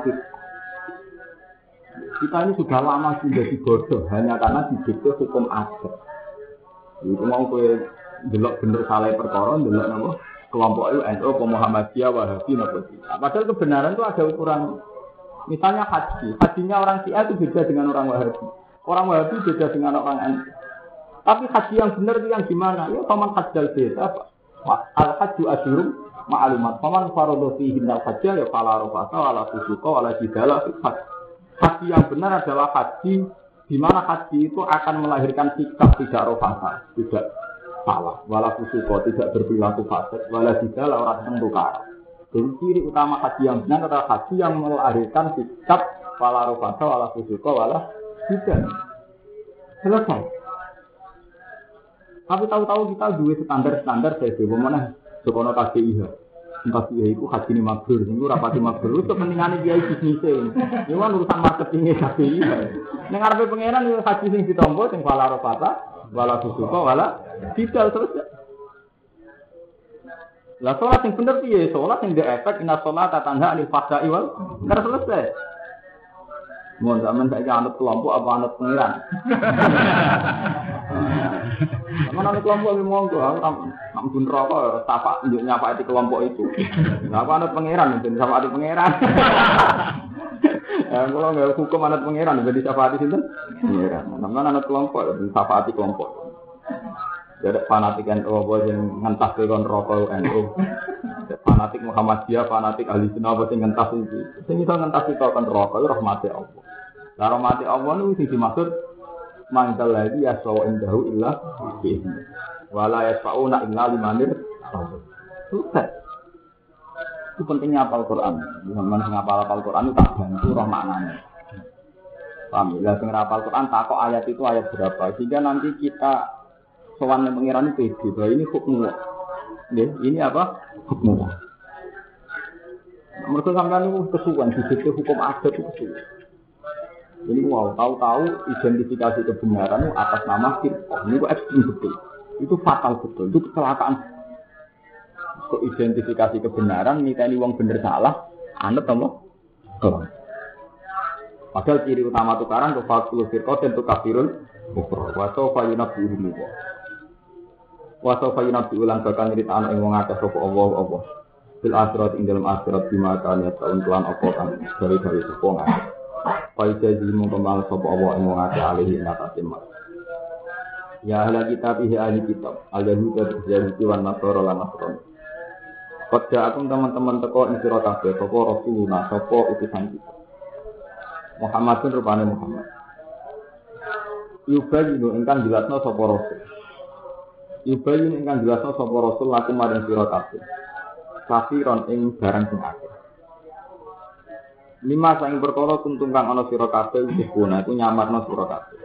kita ini sudah lama sudah dibodoh hanya karena didikte hukum adat. Itu mau kowe delok bener salah perkara, delok napa kelompok itu NU, Muhammadiyah, Wahabi napa sih. Padahal kebenaran itu ada ukuran. Misalnya haji, hajinya orang Syiah itu beda dengan orang Wahabi. Orang Wahabi beda dengan orang NU. Tapi haji yang benar itu yang gimana? Ya paman hajjal beda. Al hajju asyurum ma'lumat. Paman faradha fihi al-hajja ya fala rafasa wala fusuqa wala jidala fil hajj. Haji yang benar adalah haji di mana haji itu akan melahirkan sikap tidak rofasa, tidak salah, wala fusuko, tidak berperilaku fasik, wala jidala orang yang tukar. Jadi ciri utama haji yang benar adalah haji yang melahirkan sikap wala rofasa, wala fusuko, wala jidala. Selesai. Tapi tahu-tahu kita dua standar saya bagaimana sekolah KDIH. Tapi ya itu haji ini mabrur, itu rapati mabrur. Itu kepentingannya dia bisnisnya. Ini kan urusan marketingnya KDI. Yang ngarepe pangeran itu haji sing ditompo, sing wala rofata, wala fusuqa, wala bidal selesai. Lah sholat yang bener piye? Sholat yang ada efek inna sholata tanha anil fahsya'i wal munkar selesai. Mohon zaman saya anut kelompok apa anut pangeran? Mana kelompok ini monggo, ampun rokok, tapak nyapa di kelompok itu. Apa anut pangeran, jadi sapa di pangeran. Kalau nggak hukum anut pangeran, jadi sapa di situ. Pangeran, mana anut kelompok, sapa di kelompok. Jadi fanatik NU yang ngentas dengan rokok NU. Fanatik Muhammadiyah, fanatik ahli sunnah yang ngentas itu. Sing iso ngentas itu kan rokok itu rahmati Allah. Lah rahmati Allah itu sing dimaksud mangkal lagi ya sawa indahu illa bi'izni wala yasfa'una illa limanir susah. Itu pentingnya hafal Quran. Zaman sing hafal Quran itu tak bantu roh maknanya. Paham ya? Sing hafal Quran takok ayat itu ayat berapa sehingga nanti kita sowan nang pengiran itu pede bahwa ini hukum Allah. Ini apa? Hukum Allah. Mereka sampean itu kesuwan disitu hukum adat itu kesuwan. Ini wow, tahu-tahu identifikasi kebenaran itu atas nama firqah. Ini itu ekstrim betul. Itu fatal betul. Itu kecelakaan. Untuk identifikasi kebenaran, niteni wong bener salah, anut apa? Kelam. Padahal ciri utama tukaran itu fakul firqah dan tukafirun kufur. Wa sawfa yunabbi'uhum Allah. Wa sawfa yunabbi'ulan bakal nyritakno ing wong akeh sapa Allah. Fil akhirat ing dalam akhirat bima kan ya taun kelan apa kan dari sapa ngakeh. Faizah jimu kembang sopo Allah yang mengatakan alihi natasimah. Ya ahli kitab, ahli kitab, al-Yahudi, al-Yahudi, wan Nasara, lan Nasrani. Pada aku teman-teman teko ing sira kabeh sapa Rasulullah sapa utusan kita. Muhammadun rupane Muhammad. Yubayinu ingkang jelasno sapa Rasul. Yubayinu ingkang jelasno sapa Rasul laku maring sira kabeh. Kafiron ing barang sing akeh. Lima saing perkara kuntung kang ana sira kabeh iku nyamarno sira kabeh.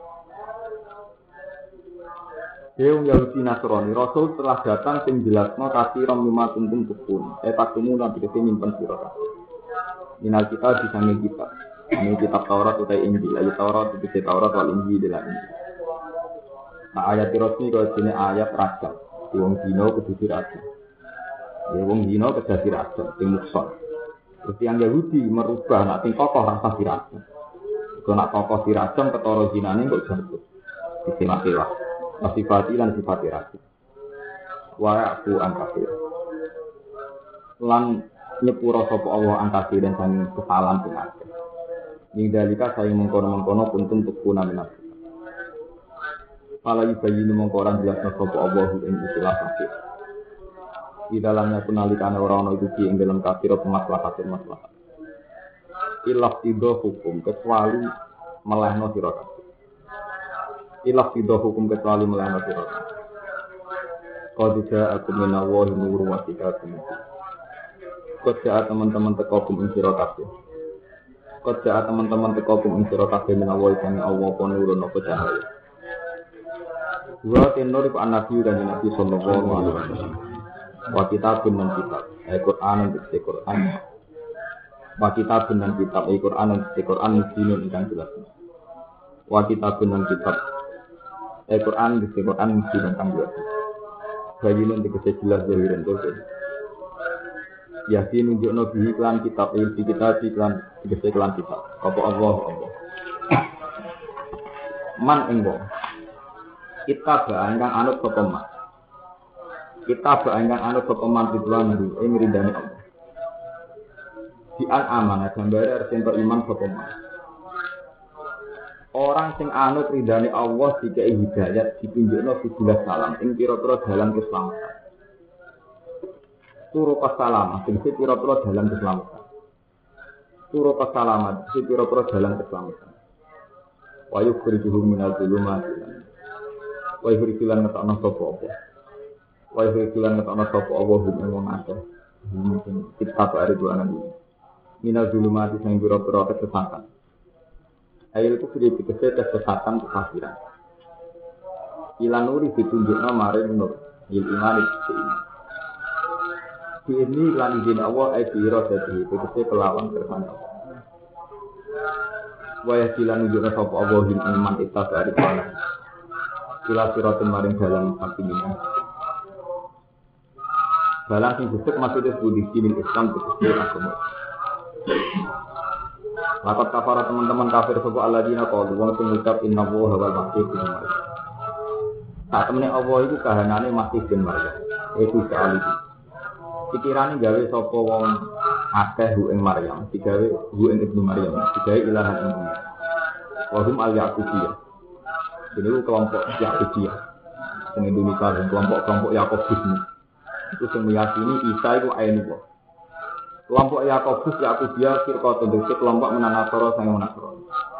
Deung Yahudi Nasrani, Rasul telah datang sing jelasno kafiron lima kuntung tukun. Takumu lan dikete nyimpen sira kabeh. Minal kita disange kita. Ini kitab Taurat utai Injil, ayat Taurat itu Taurat wal Injil dalam Injil. Nah ayat resmi kalau sini ayat raja, wong dino kudu raja. Ya wong dino kedadi raja, sing mukson. Terus yang Yahudi merubah nak sing kokoh rasa diraja. Kalau nak kokoh diraja ketara zinane kok jatuh. Disemak-semak. Sifati lan sifati raja. Wa aku angkafir. Lan nyepuro sapa Allah angkafir dan sang kesalahan sing akeh. Ninggalika saya mengkono-mengkono kuntum tukuna minat. Pala yubayinu mengkoran jelasna sapa Allah ing istilah kafir. Di dalamnya penalikane ora ana itu ing dalam kafir pemaslahat. Ilah tido hukum kecuali melehno sira kabeh. Ilah tido hukum kecuali melehno sira kabeh. Qad ja'akum minallahi nurun wa kitabun. Qad ja'a teman-teman teko kum ing sira kabeh. Kerja teman-teman teko kum sira kabeh menawa sang Allah apa nurun apa cahaya. Wa tenor iku nabi dan nabi sallallahu alaihi wasallam. Wa kitabun dan kitab, Al-Qur'an dan Al-Qur'an. Wa kitabun dan kitab, Al-Qur'an dan Al-Qur'an dinun ingkang jelas. Wa kitabun dan kitab, Al-Qur'an dan Al-Qur'an dinun ingkang jelas. Bayinun dikese jelas zahiran terus. Yakin nunjukno bihi iklan kitab ilmu kita iklan dikese iklan kitab apa Allah man enggo kita ingkang anut sapa man kita ingkang anut sapa man ridwan ing ridane Allah di an amanah gambare arep iman sapa man orang sing anut ridane Allah dikai hidayat ditunjukno sebuah salam ing pira-pira dalan keselamatan. Turu pasalama, sing pira-pira dalan keselamatan. Turu pasalamat, sing pira-pira dalan keselamatan. Wa yukhrijuhum minal dhulumati. Wa yukhrijulan ngetokno sapa apa. Wa yukhrijulan ngetokno sapa apa ing wong akeh. Mungkin kita ada dua anak ini. Minal dhulumati sing pira-pira kesesatan. Ayo itu sudah kesesatan kekafiran. Ilan nuri ditunjukna maring nur, il iman iman. Ini lan izin Allah aidira dadi tegese kelawan kersane Allah. Wa yasilan nujuna sapa Allah ing iman itas ari kana. Ila siratun maring dalan pakimina. Dalan sing disebut maksudnya budi dinin Islam tegese agama. Lakat kafara teman-teman kafir sapa alladzina qalu wa sing ngucap inna Allaha wal masih bin Maryam. Sak temene Allah iku kahanane Masih bin Maryam. Iku sekali. Pikirane gawe sapa wong akeh ing Maryam, digawe ing Ibnu Maryam, digawe ilahan ing dunya. Wa hum al-Yaqubiyah. Jadi kelompok Yaqubiyah. Sing Indonesia dan kelompok Yakobus ini. Itu sing meyakini Isa iku ainullah. Kelompok Yakubiyah firqatun dadi kelompok menanasara sang menasara.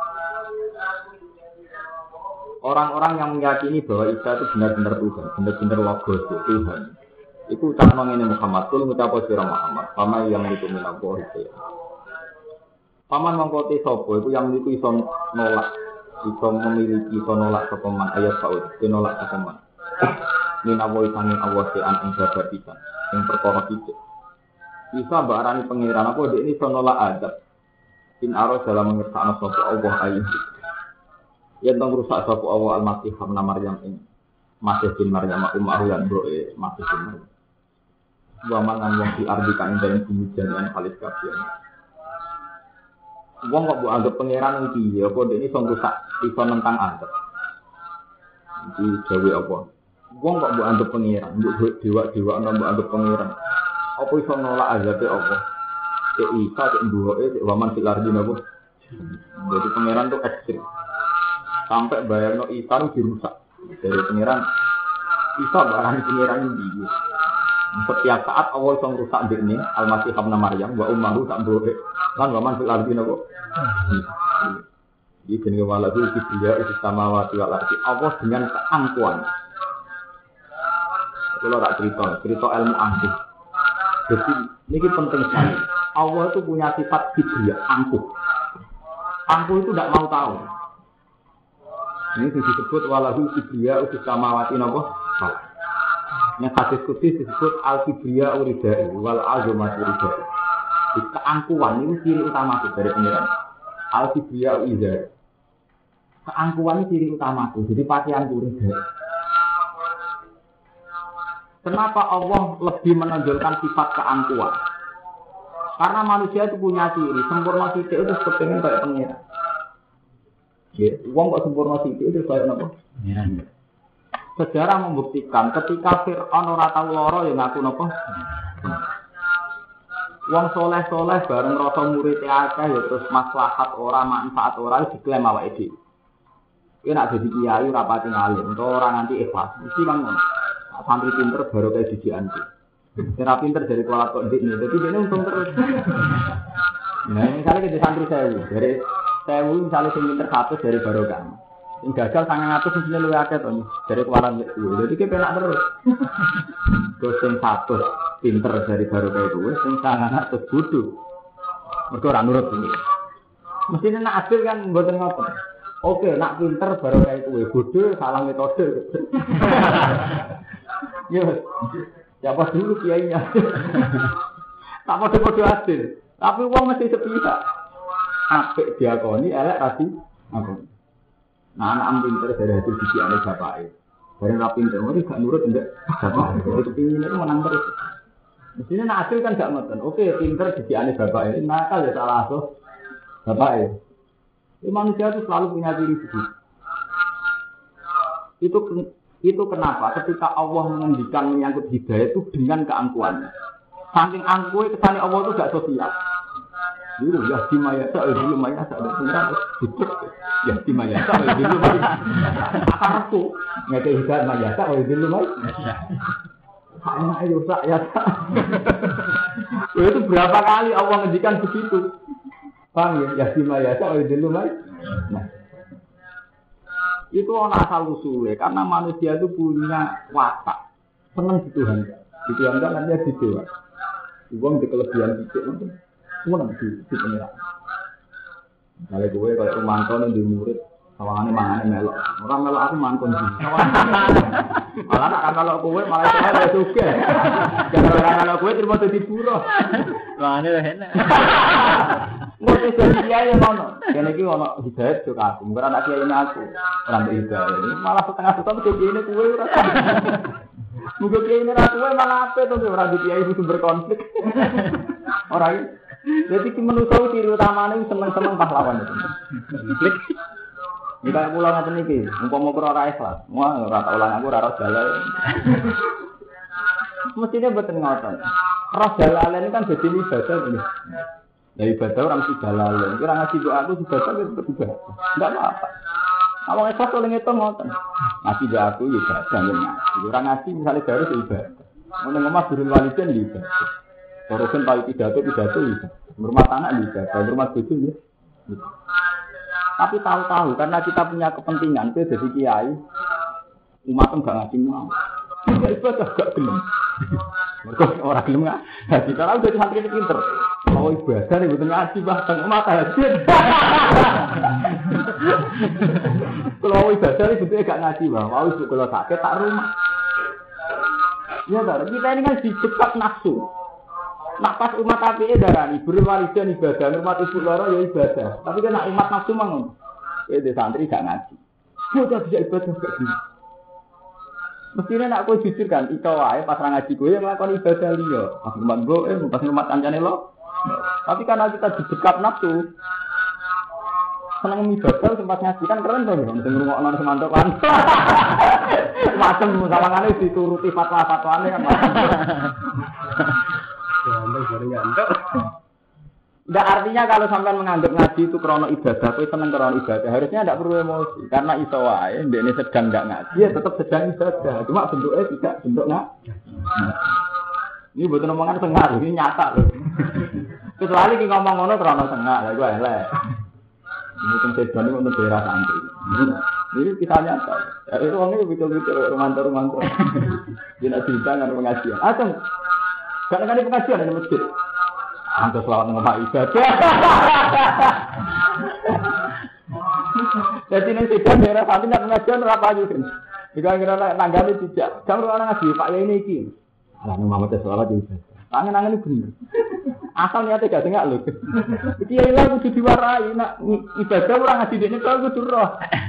Orang-orang yang meyakini bahwa Isa itu benar-benar Tuhan, benar-benar logos Tuhan. Iku ucapno ngene Muhammad, kul ngucap sira Muhammad, pama yang itu minapo itu. Paman mangkote sapa iku yang niku iso nolak, iso memiliki iso nolak sapa man ayat saud, nolak sapa man. Minawo sanging Allah sean ing babar pisan, sing perkara sithik. Isa mbak arani pangeran apa dek iso nolak adab. In aro dalam mengersakno sapa Allah ayat. Yen tong rusak sapa Allah al-Masih ibn Maryam ing Masih bin Maryam ummahu lan broe Masih bin Maryam. Waman lan wong di ardi kang dalem bumi jalan kalis kabeh. Wong kok mbok anggap pangeran iki ya apa dene iso rusak iso nentang adab. Iki gawe apa? Wong kok mbok anggap pangeran, mbok dewa-dewa ana mbok anggap pangeran. Apa iso nolak azabe apa? Cek Isa cek mbuke cek waman fil ardi napa? Jadi pangeran tuh ekstrim. Sampai bayarno Isa dirusak. Dari pangeran Isa barang pangeran iki. Setiap saat Allah iso ngrusak ndekne Al-Masih Ibnu Maryam wa ummuhu tak boleh. Lan wa man fil ardi napa? Iki jenenge walahu kibriya is samawati wal ardi. Allah dengan keangkuhan. Kalau tak cerita ilmu angkuh. Jadi ini penting sekali. Allah itu punya sifat kibriya, angkuh. Angkuh itu tidak mau tahu. Ini disebut walahu kibriya is samawati napa? Yang hadis kudus disebut al-kibriya uridai wal azumatu uridai. Keangkuhan itu ciri utama dari pengiran. Al-kibriya uridai. Keangkuhan itu ciri utama. Jadi pakaian uridai. Kenapa Allah lebih menonjolkan sifat keangkuhan? Karena manusia itu punya ciri. Sempurna sidik itu sepengen kayak pengiran. Uang kok sempurna sidik itu kayak apa? Pengiran. Sejarah membuktikan ketika Fir'aun ora tau lara ya ngaku napa? Wong soleh-soleh bareng rasa murid akeh ya terus maslahat ora manfaat ora diklaim awake dhewe. Kuwi nek dadi kiai ora pati ngalim, ora nganti ikhlas. Mesti kan ngono. Santri pinter baru kayak didikan. Ora pinter dari kuala kok ndekne. Dadi dene untung terus. Nah, misalnya ke santri 1000, dari 1000 misalnya sing pinter 100 dari barokah. Sing gagal 900 mesti luwih akeh to dari kualan mek kuwi. Dadi ki penak terus. Terus sing 100 pinter dari barokah itu, sing 900 bodho. Mergo ora nurut iki. Mesti nek adil kan mboten ngoten. Oke, nak pinter barokah itu bodho salah metode. Yo. Siapa dulu kiainya? Tak padha-padha adil. Tapi wong mesti sepihak. Apik diakoni, elek rasi apa? Nah, anak pinter dari hasil didikannya bapaknya. Bareng ra pinter, mesti gak nurut ndak bapak. Jadi kepingin itu menang terus. Mestinya nak hasil kan gak ngoten. Oke, pinter didikannya bapaknya, nakal ya salah asuh bapaknya. Manusia itu selalu punya ciri begitu. Itu kenapa ketika Allah mengendikan menyangkut hidayah itu dengan keangkuhannya. Saking angkuhnya kesannya Allah itu gak sosial. Dulu ya di maya tak dulu maya tak ada pengiran hidup ya di maya tak dulu maya aku ngeke hidayah maya tak dulu maya enak itu sak ya tak. Itu berapa kali Allah mengendikan begitu. Paham ya di maya tak dulu maya. Nah, itu orang asal usulnya karena manusia itu punya watak senang di Tuhan. Di Tuhan kan nanti di dewa. Uang di kelebihan sedikit itu senang di pengiran. Kalau gue kayak mantau di murid, sawangannya mangannya melok. Orang melok aku mantau sih. Malah nak kalau gue malah saya juga. Jangan kalau gue terima jadi buruh. Mangannya lah enak. Mesti jadi kiai ngono. Kene iki ono hidayat yo aku. Mungkin anak kiai aku. Ora hidayat. Malah setengah setengah jadi ini kuwe ora. Mungkin kiai ini ra kuwe malah ape to ora di kiai sumber konflik. Ora iki. Jadi ki manusa ciri utamane seneng-seneng pahlawan itu. Konflik. Jika kula ngaten iki, umpama kula ora ikhlas, wah ora tak ulang aku ora roh jalan. Mestine mboten ngoten. Roh jalan kan dadi ibadah ini. Dari ibadah orang sudah lalu, kira ngasih doa aku ibadah itu ibadah, tidak apa-apa. Awang ikhlas kalau ngitung ngoten, ngasih doa aku ibadah, jangan ngasih. Orang ngasih misalnya baru ibadah, mau ngomong turun walidan ibadah, barusan tahu pidato ibadah, rumah tanah ibadah, rumah tujuh ya. Tapi tahu-tahu karena kita punya kepentingan, kita jadi kiai, umat enggak ngasih mau, tidak ibadah gak gelem. Mereka orang gelem nggak? Kita tahu jadi santri ini pinter. Mau ibadah nih betul ngaji bahkan mata hasil. Kalau ibadah nih betul gak ngaji bah. Mau ibu kalau sakit tak rumah. Ya kan kita ini kan dicekat nafsu. Nak pas umat api darani berwalidan ibadah, umat ibu loro ya ibadah. Tapi kan nak umat nafsu mangun. Di santri gak ngaji. Sudah bisa ibadah gak gini. Mestinya nak kau jujur kan, itu wae pas ngaji gue yang melakukan ibadah liya. Pas rumah gue, pas rumah kancane lo. Tapi karena kita didekat nafsu, senang ibadah sempat ngaji kan keren tuh. Mesti ngrungokno semantokan. Macam sawangane dituruti fatwa-fatwane kan. Ya, baru ngantuk. Nggak artinya kalau sampai menganggap ngaji itu krono ibadah, itu seneng krono ibadah. Harusnya tidak perlu emosi, karena iso wae, ini sedang nggak ngaji, ya tetap sedang ibadah. Cuma bentuknya tidak bentuk ngaji. Ini betul omongan tengah, ini nyata loh. Kecuali kita ngomong ngono terlalu tengah, ya gue elek. Mungkin sedan itu untuk daerah santri. Ini kita nyata. Ya, itu orangnya betul-betul romanto. Tidak cerita dengan pengajian. Atau kadang-kadang pengajian ada masjid. Antus lawan ngomong ibadah. Jadi ini sedan daerah santri nak pengajian berapa aja kan? Jika kira tangganya tidak, jangan orang ngaji Pak ya ini iki. Lah Muhammad sallallahu alaihi wasallam. Tangan-tangan ini bener. Asal niatnya gak tengok lho. Iki ilang kudu diwarai nak ibadah orang ngaji dene kok kudu roh.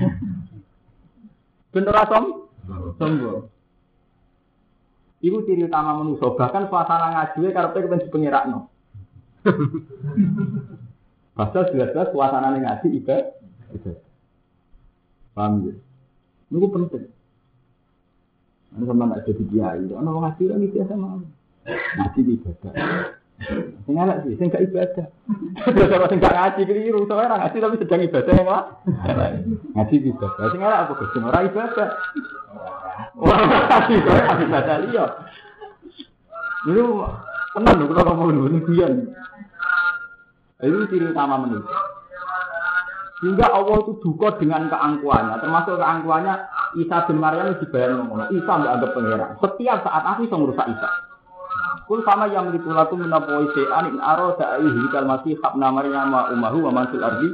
Ben ora sombong. Iku ciri utama manusa, bahkan suasana ngaji karepe kepen dipengerakno. Padahal jelas-jelas suasana ngaji ibadah. Paham ya? Ini penting. Ini sama tak jadi kiai. Orang ngaji ini biasa mau. Ngaji ibadah. Sing elek sih, sing gak ibadah. Kalau sing gak ngaji keliru, soalnya ngaji tapi sedang ibadah yang lah. Ngaji ibadah. Sing elek apa Gus? Ora ibadah. Wah, ngaji soalnya ibadah liya. Ini tenan lho kalau ngomong ini guyon. Itu ciri utama manusia. Sehingga Allah itu duka dengan keangkuhannya, termasuk keangkuhannya Isa bin Maryam dibayar ngomong, Isa nggak anggap pangeran. Setiap saat aku bisa merusak Isa. Kul sama yang ditulaku menapoi se'an in aro da'i hikal masih habna Maryam wa umahu wa mansul ardi.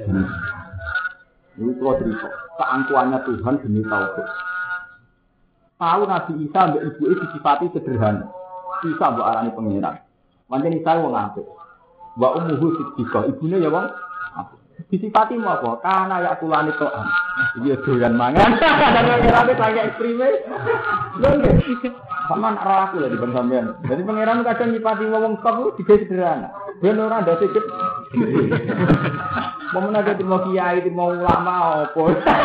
Ini kalau cerita, keangkuhannya Tuhan demi tauhid. Tahu Nabi Isa ambek ibu itu disifati sederhana. Isa mbok arani pangeran. Pancen Isa wong apik. Wa umuhu siddiqah, ibune ya wong apik. Disifati mau apa? Karena ya kulani to'an. Dia doyan mangan. Dan pengiran itu lagi ekstreme. Sama nak roh aku lah di sampean. Jadi pengiran kadang nyipati ngomong kamu juga sederhana. Bener ada sedikit. Mau menaga mau kiai, mau ulama apa.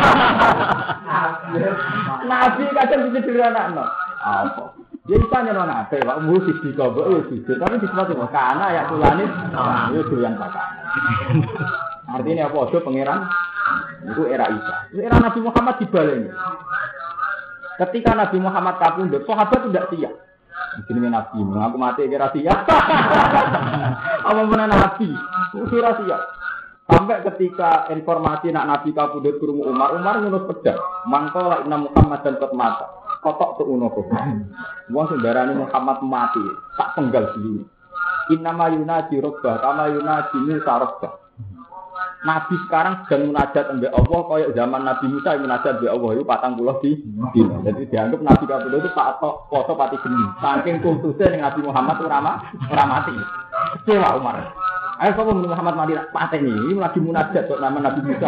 Nabi kadang sederhana no. Apa? Dia ditanya orang apa? Pak musik di kabel itu. Tapi disifati karena ya kulani. Itu doyan makan. Artinya apa? Itu pangeran itu era Isa. Itu era Nabi Muhammad dibaleni. Ketika Nabi Muhammad kapundhut, sahabat tidak siap. Jenenge Nabi, mengaku mati kira siap. Apa menan Nabi? Kira siap. Sampai ketika informasi nak Nabi kapundhut krungu Umar ngunut pedang. Mangko inna Muhammad dan qad mata. Kotok tu uno kok. Wong sembarane Muhammad mati, tak penggal dulu. Inna mayunati rabbah, kama yunati Musa rabbah. Nabi sekarang sedang munajat ambek Allah kaya zaman Nabi Musa munajat ambek Allah itu 40 dina. Jadi dianggap Nabi kapundhut itu patok foto pati geni. Saking kultusnya dengan Nabi Muhammad ora mati. Kecewa Umar. Ayo kamu Muhammad mati pateni. Ini lagi munajat kok nama Nabi Musa.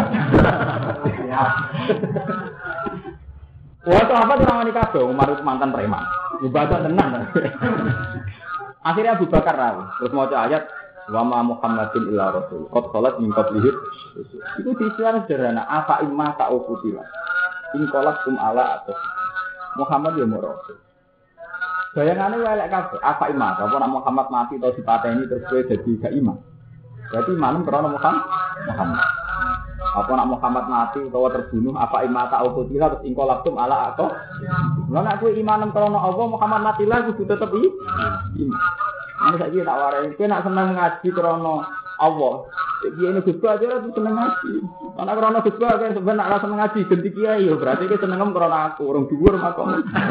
Wah, sahabat ora wani kabeh Umar itu mantan preman. Ibadah tenan. Akhirnya Abu Bakar rawi. Terus maca ayat wa ma Muhammadin illa rasul qad khalat min qablihi itu diistilah sederhana apa imma ta'ufutila in qalat ala atas Muhammad ya rasul bayangane elek kabeh apa imma apa nak Muhammad mati atau dipateni terus kowe dadi gak iman berarti iman karena Muhammad apa nak Muhammad mati utawa terbunuh apa imma ta'ufutila terus in qalat ala atas lha nek kowe iman karena Allah Muhammad mati lah kudu tetep iman. Ini saja tak warai. Kita nak senang ngaji krono Allah. Dia ini Gus aja lah senang ngaji. Karena krono Gus kan sebenarnya nak senang ngaji ganti kiai. Berarti kita senang krono aku. Orang dhuwur makom.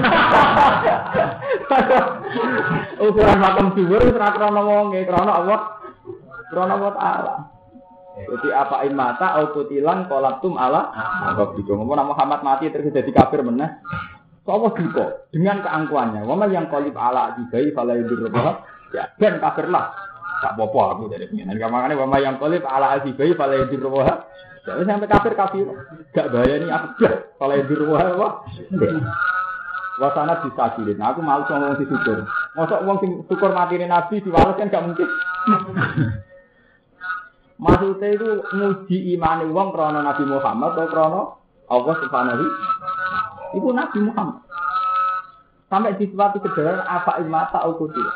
Ukuran makom dhuwur ora krono wonge krono Allah. Krono Allah Taala. Jadi apa imata au kutilan qolatum ala. Apa gitu. Ngomong Muhammad mati terus jadi kafir meneh. Allah duka dengan keangkuhannya. Wama yang qalib ala dibai fala yudurrah. Ya, ben kafirlah. Tak apa-apa aku dari pengen. Dan makanya wama yang qalib ala azibai fala yudurrah. Jadi sampai kafir. Gak bahaya ni aku dah. Fala yudurrah apa? Wasana disakilin. Aku malu ngomong si syukur. Mosok wong sing syukur matine Nabi diwales kan gak mungkin. Maksudnya itu nguji imane wong krana Nabi Muhammad atau krana Allah Subhanahu. Ibu Nabi Muhammad. Sampai disifati sederhana apa imata al-qutil.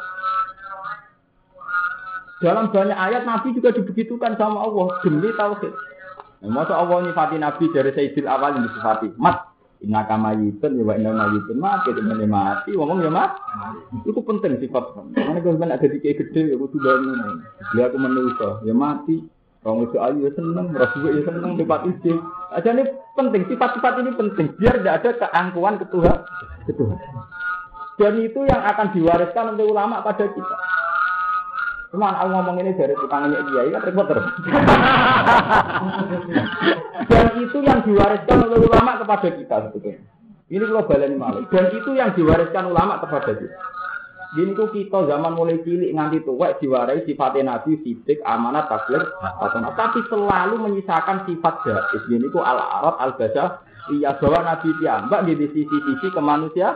Dalam banyak ayat Nabi juga dibegitukan sama Allah demi tauhid. Masa Allah nyifati Nabi dari Sayyidil Awal yang disifati. Mat, Inna kamayitun ya wa inna mayitun mati temene mati ngomong ya mati. Itu penting sifat. Karena kalau ada dikek gede ya kudu bangun. Dia aku manusa ya mati. Wong itu ayu ya seneng, rasul ya seneng debat ide. Aja ini penting sifat-sifat ini penting biar tidak ada keangkuhan ketuhan. Dan itu yang akan diwariskan oleh ulama pada kita. Cuman aku ngomong ini dari tukangnya kiai kan repot terus. Dan itu yang diwariskan oleh ulama kepada kita sebetulnya. Ini kalau baleni malih. Dan itu yang diwariskan ulama kepada kita. Gini ku kita zaman mulai cilik nganti tuwek diwarai sifatnya nabi, sidik, amanat, tabligh, tapi selalu menyisakan sifat jahis. Gini ku al-arad, al-basah, iya bahwa nabi piyambak di sisi-sisi kemanusiaan.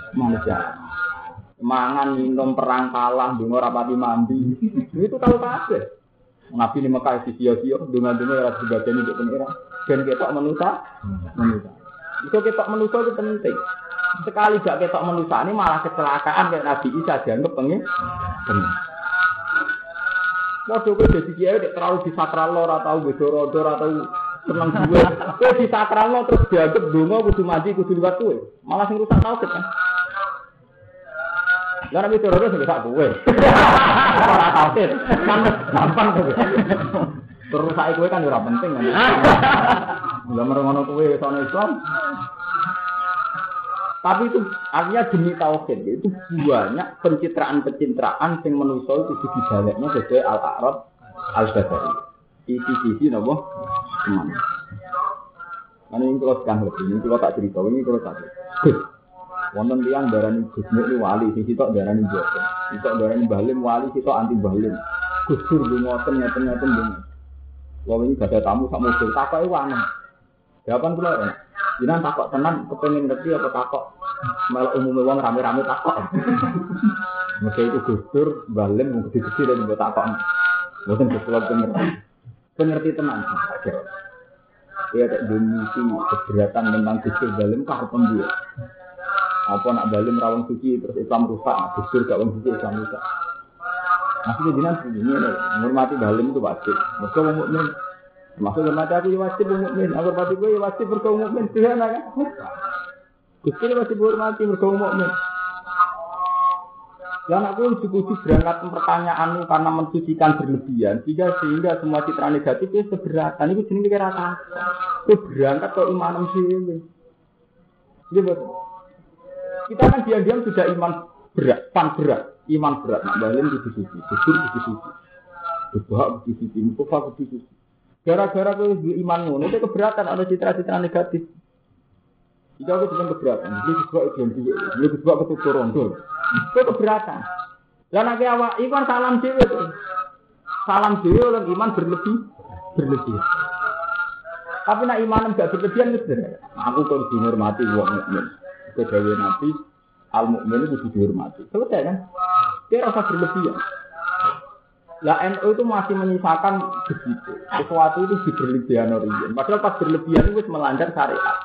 Mangan, minum, perang kalah, dungo rapati mandi. Itu tahu kabeh. Nabi di Mekah sia-sia, dungo-dungo ora dibadani untuk pengira. Ben ketok manusa. Itu ketok manusa itu penting. Sekali gak ketok manusa ini malah kecelakaan kayak Nabi Isa dianggap pengen. Waduh kowe dadi kiai terlalu disakral ora tau bedoro-doro atau seneng duwe. Kowe disakral terus dianggap dungo kudu mandi kudu liwat kowe. Malah sing rusak tauhid kan. Lah nek terus wis sak kowe. Ora tauhid. Kan gampang to. Terus saiki kowe kan ora penting kan. Lah merengono kowe sono Islam. Tapi itu artinya demi tauhid itu banyak pencitraan-pencitraan yang manusia itu dibalik-nya sesuai al-a'rad al-basari. Isi-isi napa? Teman. Kan ini kalau sekarang lebih, ini kalau tak cerita, ini kalau tak cerita. Wonten tiyang darani Gus Nur wali, sing sitok darani Jokowi. Sitok darani Balim wali, sitok anti Balim. Gus Dur ngoten ngeten-ngeten dene. Wong ini gak ada tamu sak mobil, takoke wanen. Jawaban kula ya. Jenengan takok tenan kepengin ngerti apa takok malah umume wong rame-rame takok. Mesti itu Gus Dur Balim mung gede-gede dan mbok takok. Mboten kula pengerti tenan. Dia tak dimisi keberatan tentang Gus Dur Balim karep pembuat. Apa nak Balim rawang suci terus Islam rusak, Gus Dur gak wong suci Islam rusak. Maksudnya jenengan begini menghormati Balim itu wajib. Mergo wong mukmin maksud hormati aku ya wajib mukmin, aku hormati gue ya wajib mergo mukmin kan. Gus Dur wajib hormati mergo mukmin. Yang aku uji berangkat pertanyaanmu karena mensucikan berlebihan sehingga semua citra negatif itu seberatan itu jenenge kira apa? Itu berangkat ke iman dhewe. Iya betul. Kita kan diam-diam sudah iman berat, iman berat. Nak Balim di sisi, Gus Dur di sisi, Bahak di sisi, Mustafa di sisi. Gara-gara kowe iman ngono itu keberatan ada citra-citra negatif. Jika aku cuma keberatan, ini disebut ideologi, ini disebut ketutur rondo. Itu keberatan. Dan nek awak iman salam dhewe to. Salam dhewe oleh iman berlebih. Tapi nek iman enggak berlebihan wis bener. Aku kok dihormati wong mukmin. Kedawe Nabi al-mukmin itu dihormati. Selesai kan? Dia rasa berlebihan. Lah NU itu masih menyisakan begitu. Sesuatu itu berlebihan origen. Padahal pas berlebihan itu melanggar syariat.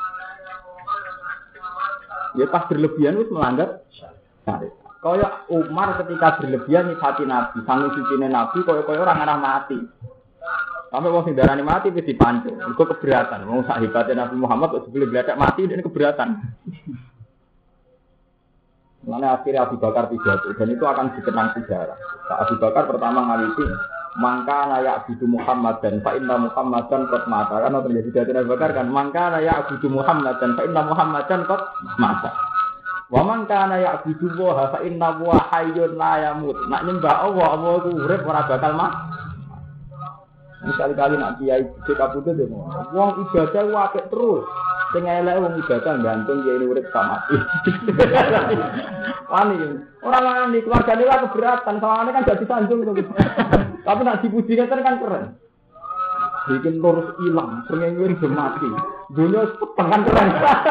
Ya pas berlebihan itu melanggar syariat. Kaya Umar ketika berlebihan nyifati Nabi, sangu sucine Nabi kaya orang arah mati. Sampai wong sing darani mati wis dipancung. Iku keberatan. Wong sak hebate Nabi Muhammad kok sebelum bledak mati ini keberatan. Mana akhirnya Abu Bakar pidato dan itu akan dikenang sejarah. Abu Bakar pertama ngaliti mangka nayak Abu Muhammad dan fa inna Muhammadan qad mata. Karena terjadi dari Abu Bakar kan mangka nayak Abu Muhammad dan fa inna Muhammadan qad mata. Wa mangka nayak Abu wa fa inna wa hayyun la yamut. Nak nyembah Allah ku urip ora bakal mati. Sekali-kali nak kiai kabudut yo. Wong ibadah apik terus. Sing elek wong ibadah gantung kiai urip sama mati. Wani. Ora wani keluargane lah keberatan, soalnya kan gak disanjung to. Tapi nak dipuji kan keren. Bikin lurus ilang, srengenge wis mati. Dunia tekan keren.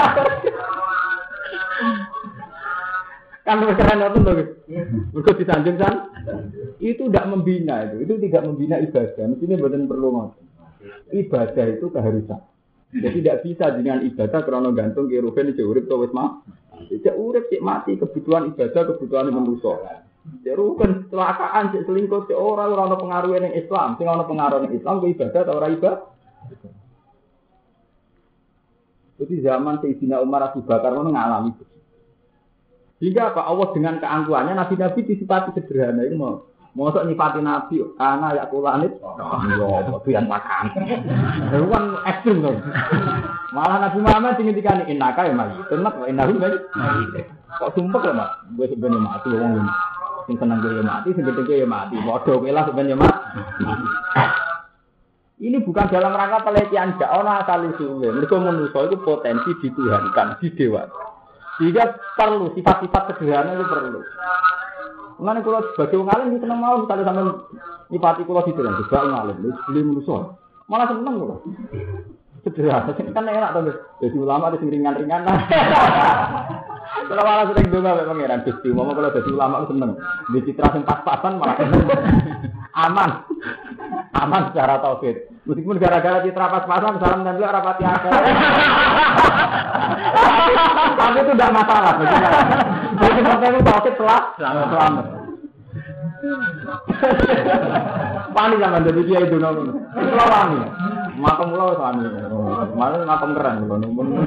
Kan keren itu to. Mergo disanjung kan. Itu tidak membina itu tidak membina ibadah. Mestinya bukan perlu ngoten. Ibadah itu keharusan. Jadi tidak bisa dengan ibadah karena gantung ke ruhen cek urip to wis mah. Cek urip cek mati kebutuhan ibadah kebutuhan manusia. Cek ruhen kecelakaan cek selingkuh cek ora ana pengaruh ning Islam. Sing ana pengaruh ning Islam ku ibadah ta ora ibadah. Jadi zaman Sayyidina Umar Abu Bakar itu mengalami. Sehingga apa? Allah dengan keangkuhannya Nabi-Nabi disifati sederhana itu mau. Mosok nyifati Nabi, karena ya kulanit, ya yang makan. Itu kan ekstrim kan. Malah Nabi Muhammad tinggal innaka ya mati. Tenang, innahu mati. Kok sumpah ya mak? Gue sebenarnya mati, orang ini. Sing senang gue ya mati, sing gede ya mati. Bodoh kelah sebenarnya mati. Ini bukan dalam rangka pelecehan dakwah asal usulnya. Mereka manusia itu potensi dituhankan, didewa. Sehingga perlu sifat-sifat sederhana itu perlu. Mengenai kalau sebagai ngalim itu senang mau misalnya sampai nyipati kalau gitu kan juga ngalim, beli manusia. Malah seneng loh. Sederhana, kan enak tuh. Jadi ulama itu ringan-ringan. Kalau malah sering juga pangeran Gusti, mau kalau jadi ulama itu seneng. Di citra yang pas-pasan malah seneng. Aman secara tauhid. Meskipun gara-gara citra pas-pasan salam dan juga rapati akal. Tapi itu tidak masalah. Jadi sampai itu tauhid selamat. Pani zaman jadi dia itu nol. Selawani. Makam ulo suami. Malah makam keren ulo.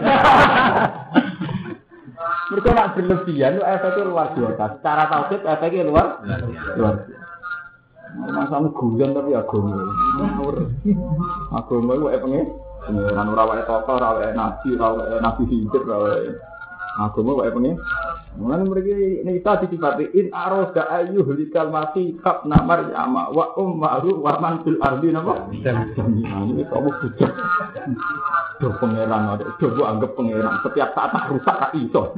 Mereka nak berlebihan, efeknya luar biasa. Secara tauhid efeknya luar biasa. Masalah guyon tapi agama. Agama itu pengen ora tokoh, ora nabi hidup, agama wae pengen. Mulane mriki nita disifati in aroda ayyuhlikal mati kab namar yama wa ummaru wa man fil ardi napa? Ini kamu bujak. Do pangeran ada, coba anggap pangeran setiap saat tak rusak tak iso.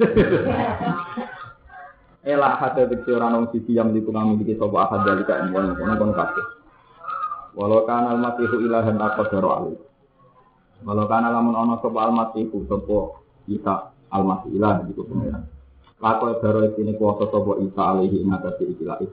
Ela hate diksi orang nong sisi yang dikunami diksi sopa ahad dari kain kono kabeh. Walau kana al-masihu ilahan aqdaru alih. Walau kana lamun ana sopa al-masihu sopa Isa al-masih ilah diku pengiran. Lakoi daro ini kuasa sopa Isa alaihi ingatasi ikilah.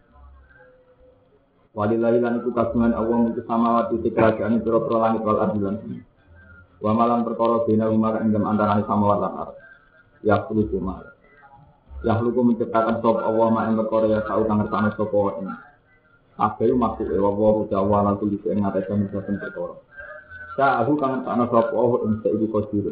Walillahi lan iku kagungan Allah mintu samawati kerajaan pira-pira langit wal ardilan. Wa malam perkara bina umar ing antarané samawat lan ardh. Ya kudu cuma Yahluku menciptakan sop Allah ma'in perkara ya sa'u kang ngersane sapa wae. Kabeh maksude wa jawa lan tulis ing ngatasé saben perkara. Sa'u kang ngersane sapa Allah ing saiki kodir.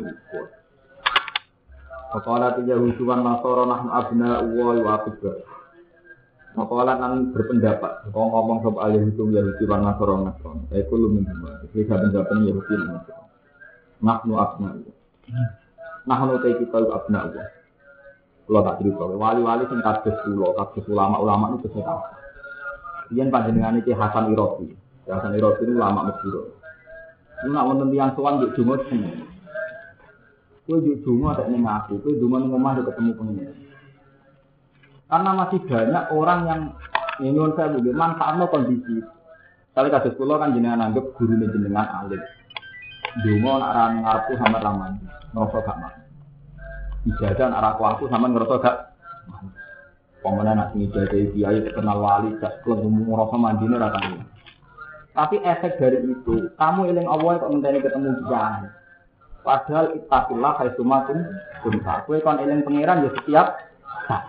Faqala Yahuduwan Nasara nahnu abna'u wa aqiba. Faqala nang berpendapat ngomong sapa Yahudi lan Nasara. Iku lumin. Iki saben-saben Yahudi lan Nasara. Nahnu abna'u. Nahnu kita abna'u. Kalau tak cerita, wali-wali sing kados ulama itu kesehatan. Kemudian panjenengan iki Hasan Iraqi. Hasan Iraqi itu ulama Mesir. Lu nak wonten tiyang sowan njuk donga seneng. Kowe njuk donga tak ning aku, kowe donga ning omah ketemu pengen. Karena masih banyak orang yang nyuwun saya nggih manfaatno kondisi. Kali kados kula kan jenengan anggap gurune jenengan alim. Donga nak ra ngarepku sampe raman, ngrasa gak mak. Ijadah arah aku sama ngerasa gak pemenang nak ijadah kiai terkenal wali gak kelemu ngerasa mandine rasanya. Tapi efek dari itu kamu eling Allah kok ngenteni ketemu kiai. Padahal ittaqillah haitsumatum kunta. Kowe kon eling pangeran ya setiap saat.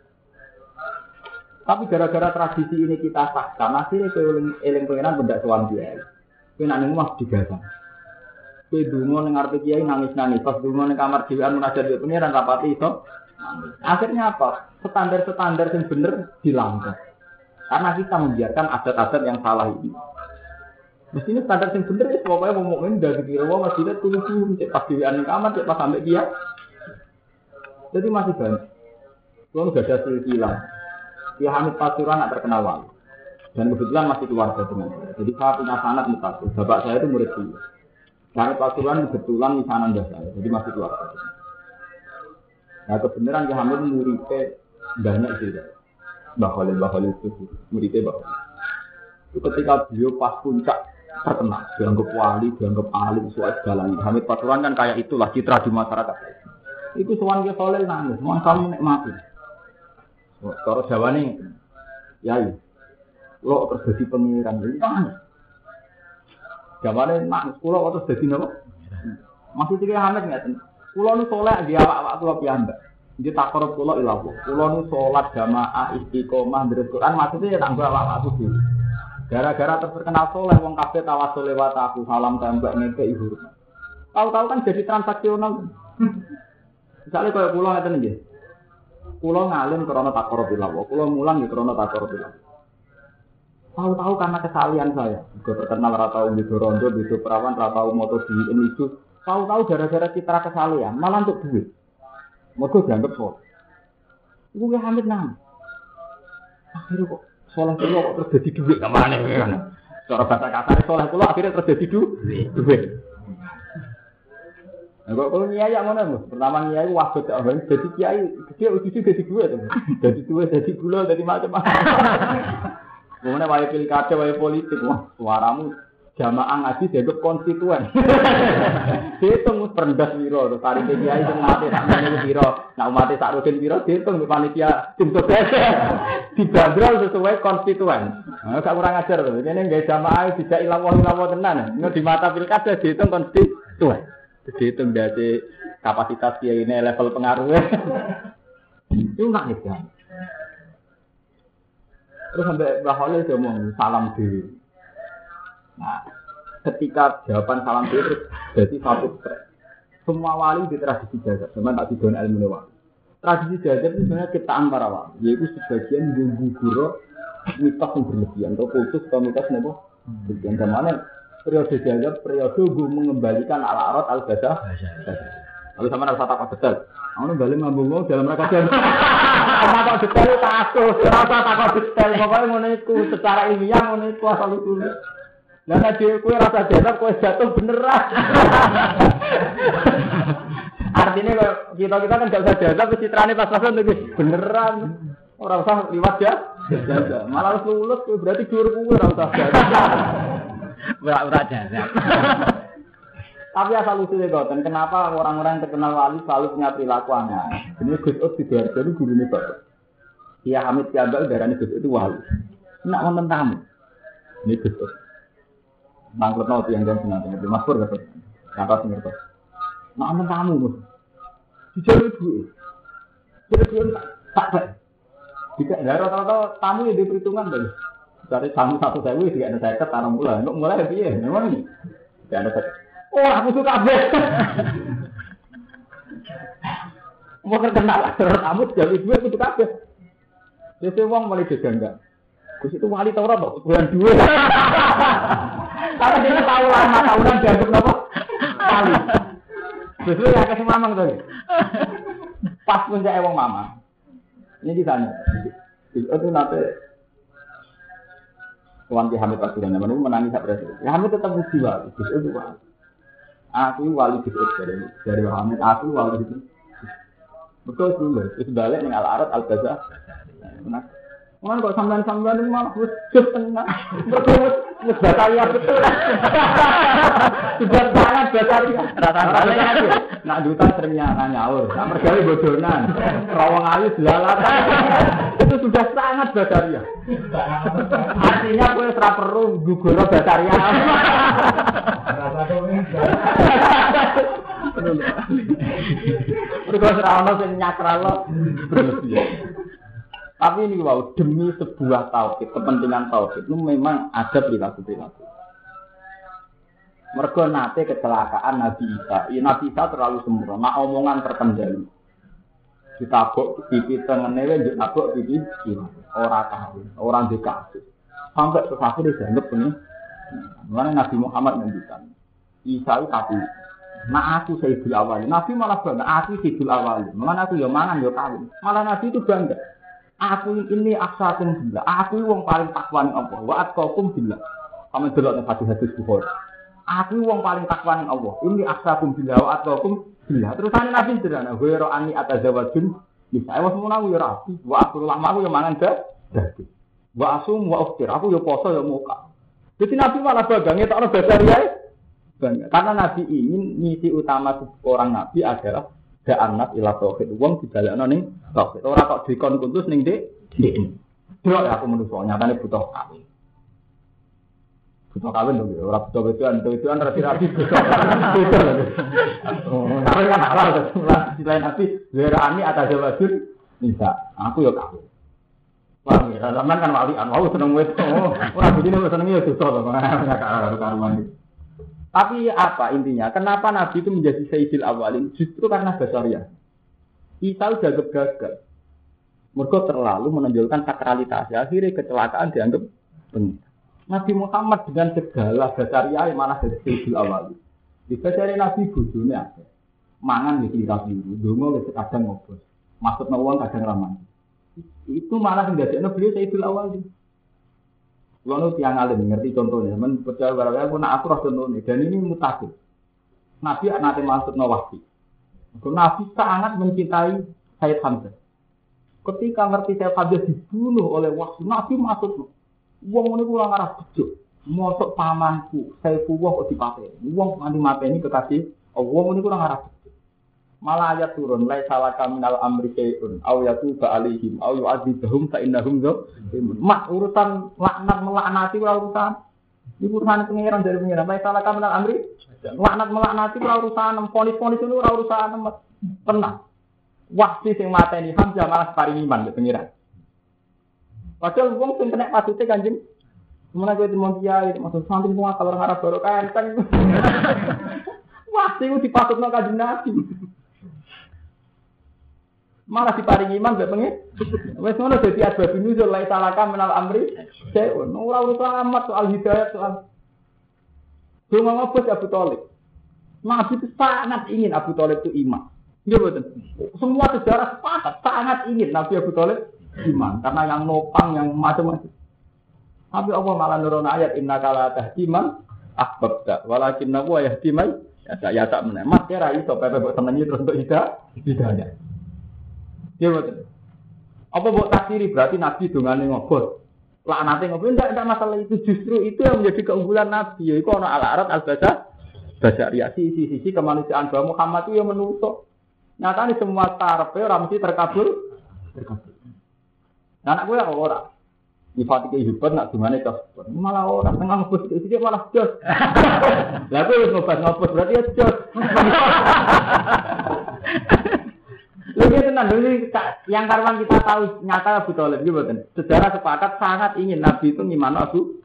Tapi gara-gara tradisi ini kita sahkan akhirnya kowe eling pangeran benda sowan kiai. Kowe nak ning omah digagang. Kowe donga ning arep kiai nangis-nangis, pas donga ning kamar dhewean munajat karo pangeran rapati iso. Akhirnya apa? Standar-standar yang bener dilanggar. Karena kita membiarkan adat-adat yang salah ini. Mestinya standar yang bener ya pokoknya ngomongin dari kira wong masjid tulu-tulu cek pas dhewean ning kamar cek pas sampe dia. Jadi masih banyak. Kalau enggak ada silsilah. Dia Hamid Pasuruan tak terkenal wali. Dan kebetulan masih keluarga dengan saya. Jadi saya punya sanad mutasil. Bapak saya itu murid dia. Karena Pasuruan kebetulan misanan saya, jadi masih keluarga. Nah kebenaran Ki Hamid muridnya banyak sih. Mbah Khalil itu muridnya Mbah Khalil. Itu ketika beliau pas puncak terkenal, dianggap wali, dianggap alim, soal segalanya. Hamid Pasuruan kan kayak itulah citra di masyarakat. Itu soal Ki Khalil nangis, mohon kamu nikmati. Cara Jawa nih, ya, lo terjadi pengiran jadi nangis. Jawabannya nak sekolah atau jadi apa? Masih tiga Hamid nggak tuh? Sekolah nu sholat dia awak tua piambak. Dia tak korup sekolah ilawo. Sekolah nu sholat jamaah istiqomah dari Quran maksudnya tak gua awak aku. Gara-gara terkenal sholat, wong kafe tawasul lewat aku salam tembak ngeke ibu. Tahu-tahu kan jadi transaksional. Misalnya kalau pulau ngeten nggih. Pulau ngalim karena takor bilawo, pulau mulang ya karena takor bilawo. Tahu-tahu karena kesalian saya, juga terkenal ratau di rondo, di perawan, ratau motor di ini itu. Tahu-tahu gara-gara citra kesalian, malah untuk duit. Mereka dianggap soleh. Ibu ya Hamid nang. Akhirnya kok soleh pulau kok terus jadi duit kemana kan? Cara bahasa kasar soleh pulau akhirnya terus jadi duit. Nah, kalau nyai yang mana mas? Pertama nyai waktu orang jadi kiai, dia uji jadi dua tuh, jadi gula, jadi macam-macam. Kemudian wajib pilkada, wajib politik, wah suaramu jamaah ngaji jadi konstituen. Dihitung perendah biro, terus hari kiai itu mati tak menjadi biro, nak mati tak rutin biro, dihitung panitia tim sukses dibanderol sesuai konstituen. Nah, gak kurang ajar tuh, ini nggak jamaah tidak ilawah tenan, ini di mata pilkada dihitung konstituen. Dihitung dari kapasitas kiai ini level pengaruhnya. Itu enggak nih kan. Terus sampai Mbah Khalil dia ngomong salam diri. Nah, ketika jawaban salam diri terus jadi satu tren. Semua wali di tradisi jagat, sama tak didon ilmu wali. Tradisi jagat itu sebenarnya ciptaan para wali, yaitu sebagian guru mitos yang berlebihan, atau kultus atau mitos nebo. Yang mana periode jagat, periode gue mengembalikan al-arad al-basah. Lalu sama rasa takut betul. Aku balik ngambung dalam rangka jagat. Takut betul takut, rasa takut betul. Pokoknya menurutku secara ilmiah menurutku asal usul. Dan tadi kue rasa jagat, kue jatuh beneran. Artinya kita kan gak usah jagat, citranya pas-pasan tuh beneran. Orang usah liwat ya, malah harus lulus, berarti juru kue orang usah jagat. Berat jasa. Tapi asal usulnya goten, kenapa orang-orang yang terkenal wali selalu punya perilaku aneh? Ini Gus Ud juga jadi guru ini bapak. Dia Hamid Kiambak darahnya Gus Ud itu wali. Nak nonton tamu. Ini Gus Ud. Nangkut nol yang jangan senang dengan Mas Pur dapat. Kata sengertos. Nak nonton tamu mus. Dijalur duit. Jadi tak tak. Jika rata-rata tamu yang diperhitungkan tadi. Dari tamu 1.000 tidak ada seket tanam bulan. Untuk mulai ya, memang ini tidak ada seket. Oh, aku suka abis. Mau terkenal tamu jadi duit aku suka abis. Jadi uang mulai diganggu. Gus itu wali Taurat kok bulan duit. Karena dia tahu lama tahunan dianggap apa? Wali. Justru ya kasih mamang tadi. Pas puncak wong mama. Ini ditanya. Itu nanti Tuan Ki Hamid Pasuruan, namanya menangis tak berhasil. Ya Hamid tetap uji wali, Gus itu wali. Aku wali Gus dari Hamid, aku wali itu. Betul dulu, itu balik dengan al-arad al-basah. Benar. Mana kok sampean-sampean itu malah wujud tengah. Betul, Bataria betul. Sudah sangat Bataria. Rata-rata nak duta seringnya nyaur, nak mergawe bodonan, rawang ayu jelalatan. Itu sudah sangat Bataria. Artinya kowe ora perlu guguro Bataria. Mergo ora ono sing nyakralo. Tapi ini wow, demi sebuah tauhid, kepentingan tauhid itu memang ada perilaku-perilaku. Mergo nate kecelakaan Nabi Isa. Ya, Nabi Isa terlalu sempurna, omongan terkendali. Ditabuk pipi tengene wae ditabuk pipi kiri. Ora tahu, orang dikasih. Sampai sesaku dianggap ini. Mana Nabi Muhammad ngendikan. Isa itu kafir. Nah aku Sayyidul Awwalin. Nabi malah bangga, aku Sayyidul Awwalin. Mana aku ya mangan ya kawin. Malah Nabi itu bangga. Aku ini aksakum billah. Aku wong paling takwa ning Allah. Wa atqakum billah. Kamu delok ning hadis Bukhari. Aku wong paling takwa ning Allah. Ini aksakum billah wa atqakum billah. Terusane Nabi sederhana, "Wa ra'ani atazawajun." Bisa wis menawa ya rapi. Wa aku lama aku ya mangan daging. Wa asum wa uftir. Aku ya poso ya muka. Jadi Nabi malah bangga tak ono basaria. Bangga. Karena Nabi ingin misi utama seorang nabi adalah da'anat ila tauhid. Wong dibalekno ning tauhid. Ora kok dikon kuntus ning dik. Delok aku menungso nyatane butuh kawin. Butuh kawin lho, ora butuh wedoan rapi-rapi butuh. Oh, tapi kan halal to. Selain nabi, zerani atas wajib bisa. Aku ya kawin. Wah, ya zaman kan walian, wow seneng wedok. Ora begini senenge ya dosa to. Karuan. Tapi apa intinya? Kenapa Nabi itu menjadi Sayyidil Awalin? Justru karena basariah. Isa udah gagal. Mereka terlalu menonjolkan sakralitas. Akhirnya kecelakaan dianggap benar. Nabi Muhammad dengan segala basariah malah jadi Sayyidil Awalin. Di basariah Nabi bujune ada. Mangan di kira biru, dongo wis kadang ngobos. Maksudna wong kadang ramah. Itu malah ndadekno beliau Sayyidul Awalin. Kulo tiyang alim ngerti contohnya, men percaya barang aku nak atur contohnya dan ini mutakhir. Nabi nate maksudna wahyi. Nabi sangat mencintai Sayyid Hamzah. Ketika ngerti Sayyid Hamzah dibunuh oleh wahyi, Nabi maksudna wong ngene kula ngarep bejo. Mosok pamanku Saifullah kok dipateni. Wong nganti mateni kekasih wong ngene kula ngarep. Malah ayat turun lai salaka minal amri syai'un aw yatuba alaihim aw yu'adzibahum fa innahum zalimun. Mak urusan laknat melaknati ora urusan. Iki urusan pengiran dari pengiran. Lai salaka minal amri laknat melaknati ora urusan, ponis-ponis itu ora urusan tenang. Wahsi sing mateni Hamzah malah paring iman ke pengiran. Padahal wong sing kena pasute Kanjeng Semono kowe timon kiai maksud santri semua kalau ngarep barokah kan. Wahsi ku dipasutno Kanjeng Nabi. Malah diparingi iman mbek pengen. Wes ngono dadi asbab nuzul la salaka minal amri sayun. Ora urusan amat soal hidayah soal. Cuma ngapa Abu Thalib. Nabi itu sangat ingin Abu Thalib itu iman. Nggih mboten. Semua sejarah sepakat sangat ingin Nabi Abu Thalib iman karena yang nopang yang macam-macam. Tapi Allah malah nurun ayat innaka la tahdi man ahbabta walakinna huwa yahdi man ya tak meneh. Mas kira iso pepe mbok senengi terus untuk hidayah. Ya betul. Apa buat takdiri berarti Nabi dongane ngobot. Laknate ngobot enggak masalah itu, justru itu yang menjadi keunggulan Nabi. Yaiku ana al-arat al-basariyah sisi kemanusiaan bahwa Muhammad itu yang menusuk. Nyatane semua karepe ora mesti terkabul. Nah anak gue ora. Sifat iki hebat nak dongane kok. Malah ora tengah ngobot iki malah jos. Lah kowe wis ngobot berarti ya jos. Lebih tenang dulu yang karuan kita tahu nyata Abu Thalib gitu kan. Sejarah sepakat sangat ingin Nabi itu ngimano Abu.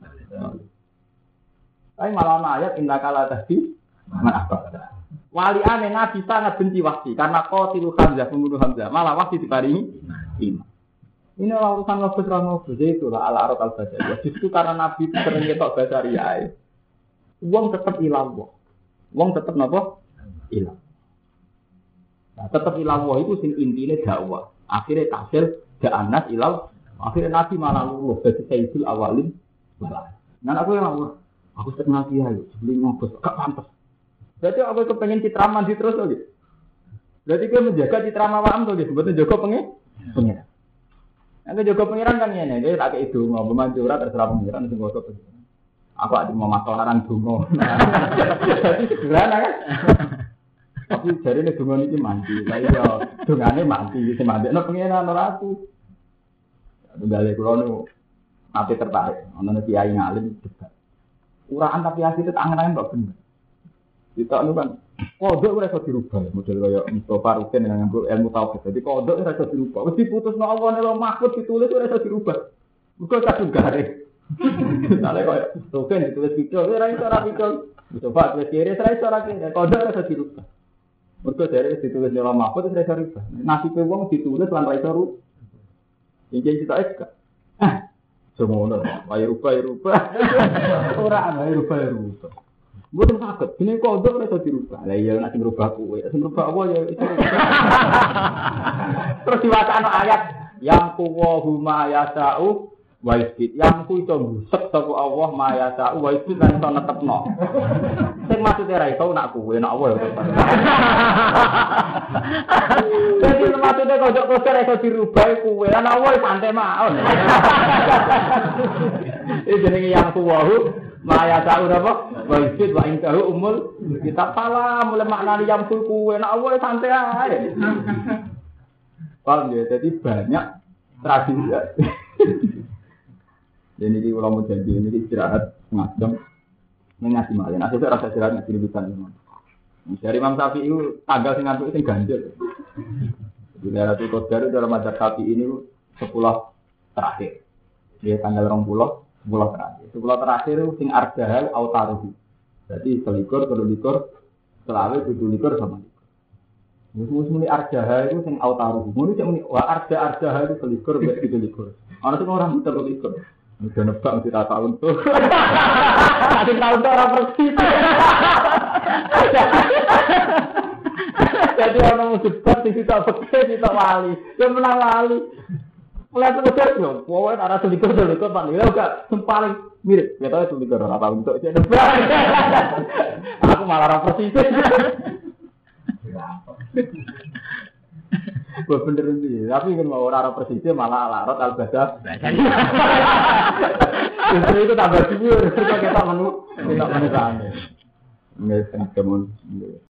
Tapi malah ayat indakala tadi mana apa? Wali aneh Nabi sangat benci Wahsy karena qatilu Hamzah pembunuh Hamzah. Malah Wahsy diparingi iman. Ini urusan ngobos jadi itulah al-arad al-basariyah. Justru karena Nabi sering ketok basariyah. Wong tetap ilang kok. Wong tetap napa? Ilang. Nah, tetap ilawah itu sing intine dakwah. Akhirnya tasil ja'anas ilaw. Akhirnya Nabi malah luluh dari Sayyidul Awalin. Nah aku yang aku setengah kiai, beli ngobos, gak pantas. Jadi aku kepengen citra mandi terus lagi. Berarti dia menjaga citra mawam tuh, sebetulnya jaga pengiran. Yang jaga pengiran kan ini, dia tak kayak itu ngomong manjura terserah pengiran sing gosok. Aku ada mau masalah dungo. Jadi sederhana kan. Tapi jari ini dungan ini mandi, saya ya dungannya mandi, saya mandi. No pengiran orang aku, balik kulo nanti tertarik, nonton kiai ngalim juga. Uraan tapi hasil itu angen-angen tak benar. Kita anu kan, kodok udah bisa dirubah, model kayak Mustafa Rukin dengan ilmu tauhid. Jadi kodok udah bisa dirubah, mesti putus no Allah nih lo mahfud ditulis udah bisa dirubah. Bukan kadung garing. Misalnya kayak Rukin ditulis video, ini orang video. Mustafa tulis kiri, saya orang kiri, kodok udah bisa dirubah. Mereka dari ditulis dalam mahfud itu rasa rubah. Nasi pewong ditulis lan rasa rubah. Yang kita juga. Semua orang, bayar rubah. Orang bayar rubah. Bukan sakit. Ini kodok rasa dirubah. Lah iya nasi berubah kue. Nasi berubah apa ya? Terus diwacana ayat yang kuwahu ma yasa'u wa yusbit. Yang ku iso busek sapa Allah ma yasa'u wa yusbit lan iso netepno. Sing maksude ra iso nak kuwe nak apa ya. Jadi maksude kodok iso dirubah kuwe lan apa santai mawon. Iki jenenge yang kuwahu ma yasa'u apa? Wa yusbit wa intahu umul kita pala mulai maknane yang kuwe nak apa santai ae. Paham ya? Jadi banyak tradisi. Jadi di ulama janji ini istirahat ngajam ngaji malih. Nah, saya rasa istirahat ngaji libutan ini. Dari Imam Syafi'i itu tanggal sing ngantuk sing ganjil. Di daerah itu Qadar dalam mazhab Syafi'i ini 10 terakhir. Dia tanggal 20 terakhir. 10 terakhir itu sing ardahal autaruhi. Jadi selikur, selawe, kudu likur sama likur. Mus muni arjaha itu sing autaruh. Muni cek muni wa arjaha itu selikur mbek kudu likur. Ana sing ora muter likur. Udah nebak mesti tak tahun tuh. Adik tahun tuh ora persis. Jadi orang musuh di situ pakai di situ wali, dia menang wali. Mulai terus yo, pokoknya arah selikur pak Nila juga paling mirip. Ya tahu selikur apa untuk dia nebak. Aku malah orang persis. Gue bener sih, tapi kan mau orang persis malah alarot al-badah. Justru itu tambah subur, kita menu sana. Nggak sengaja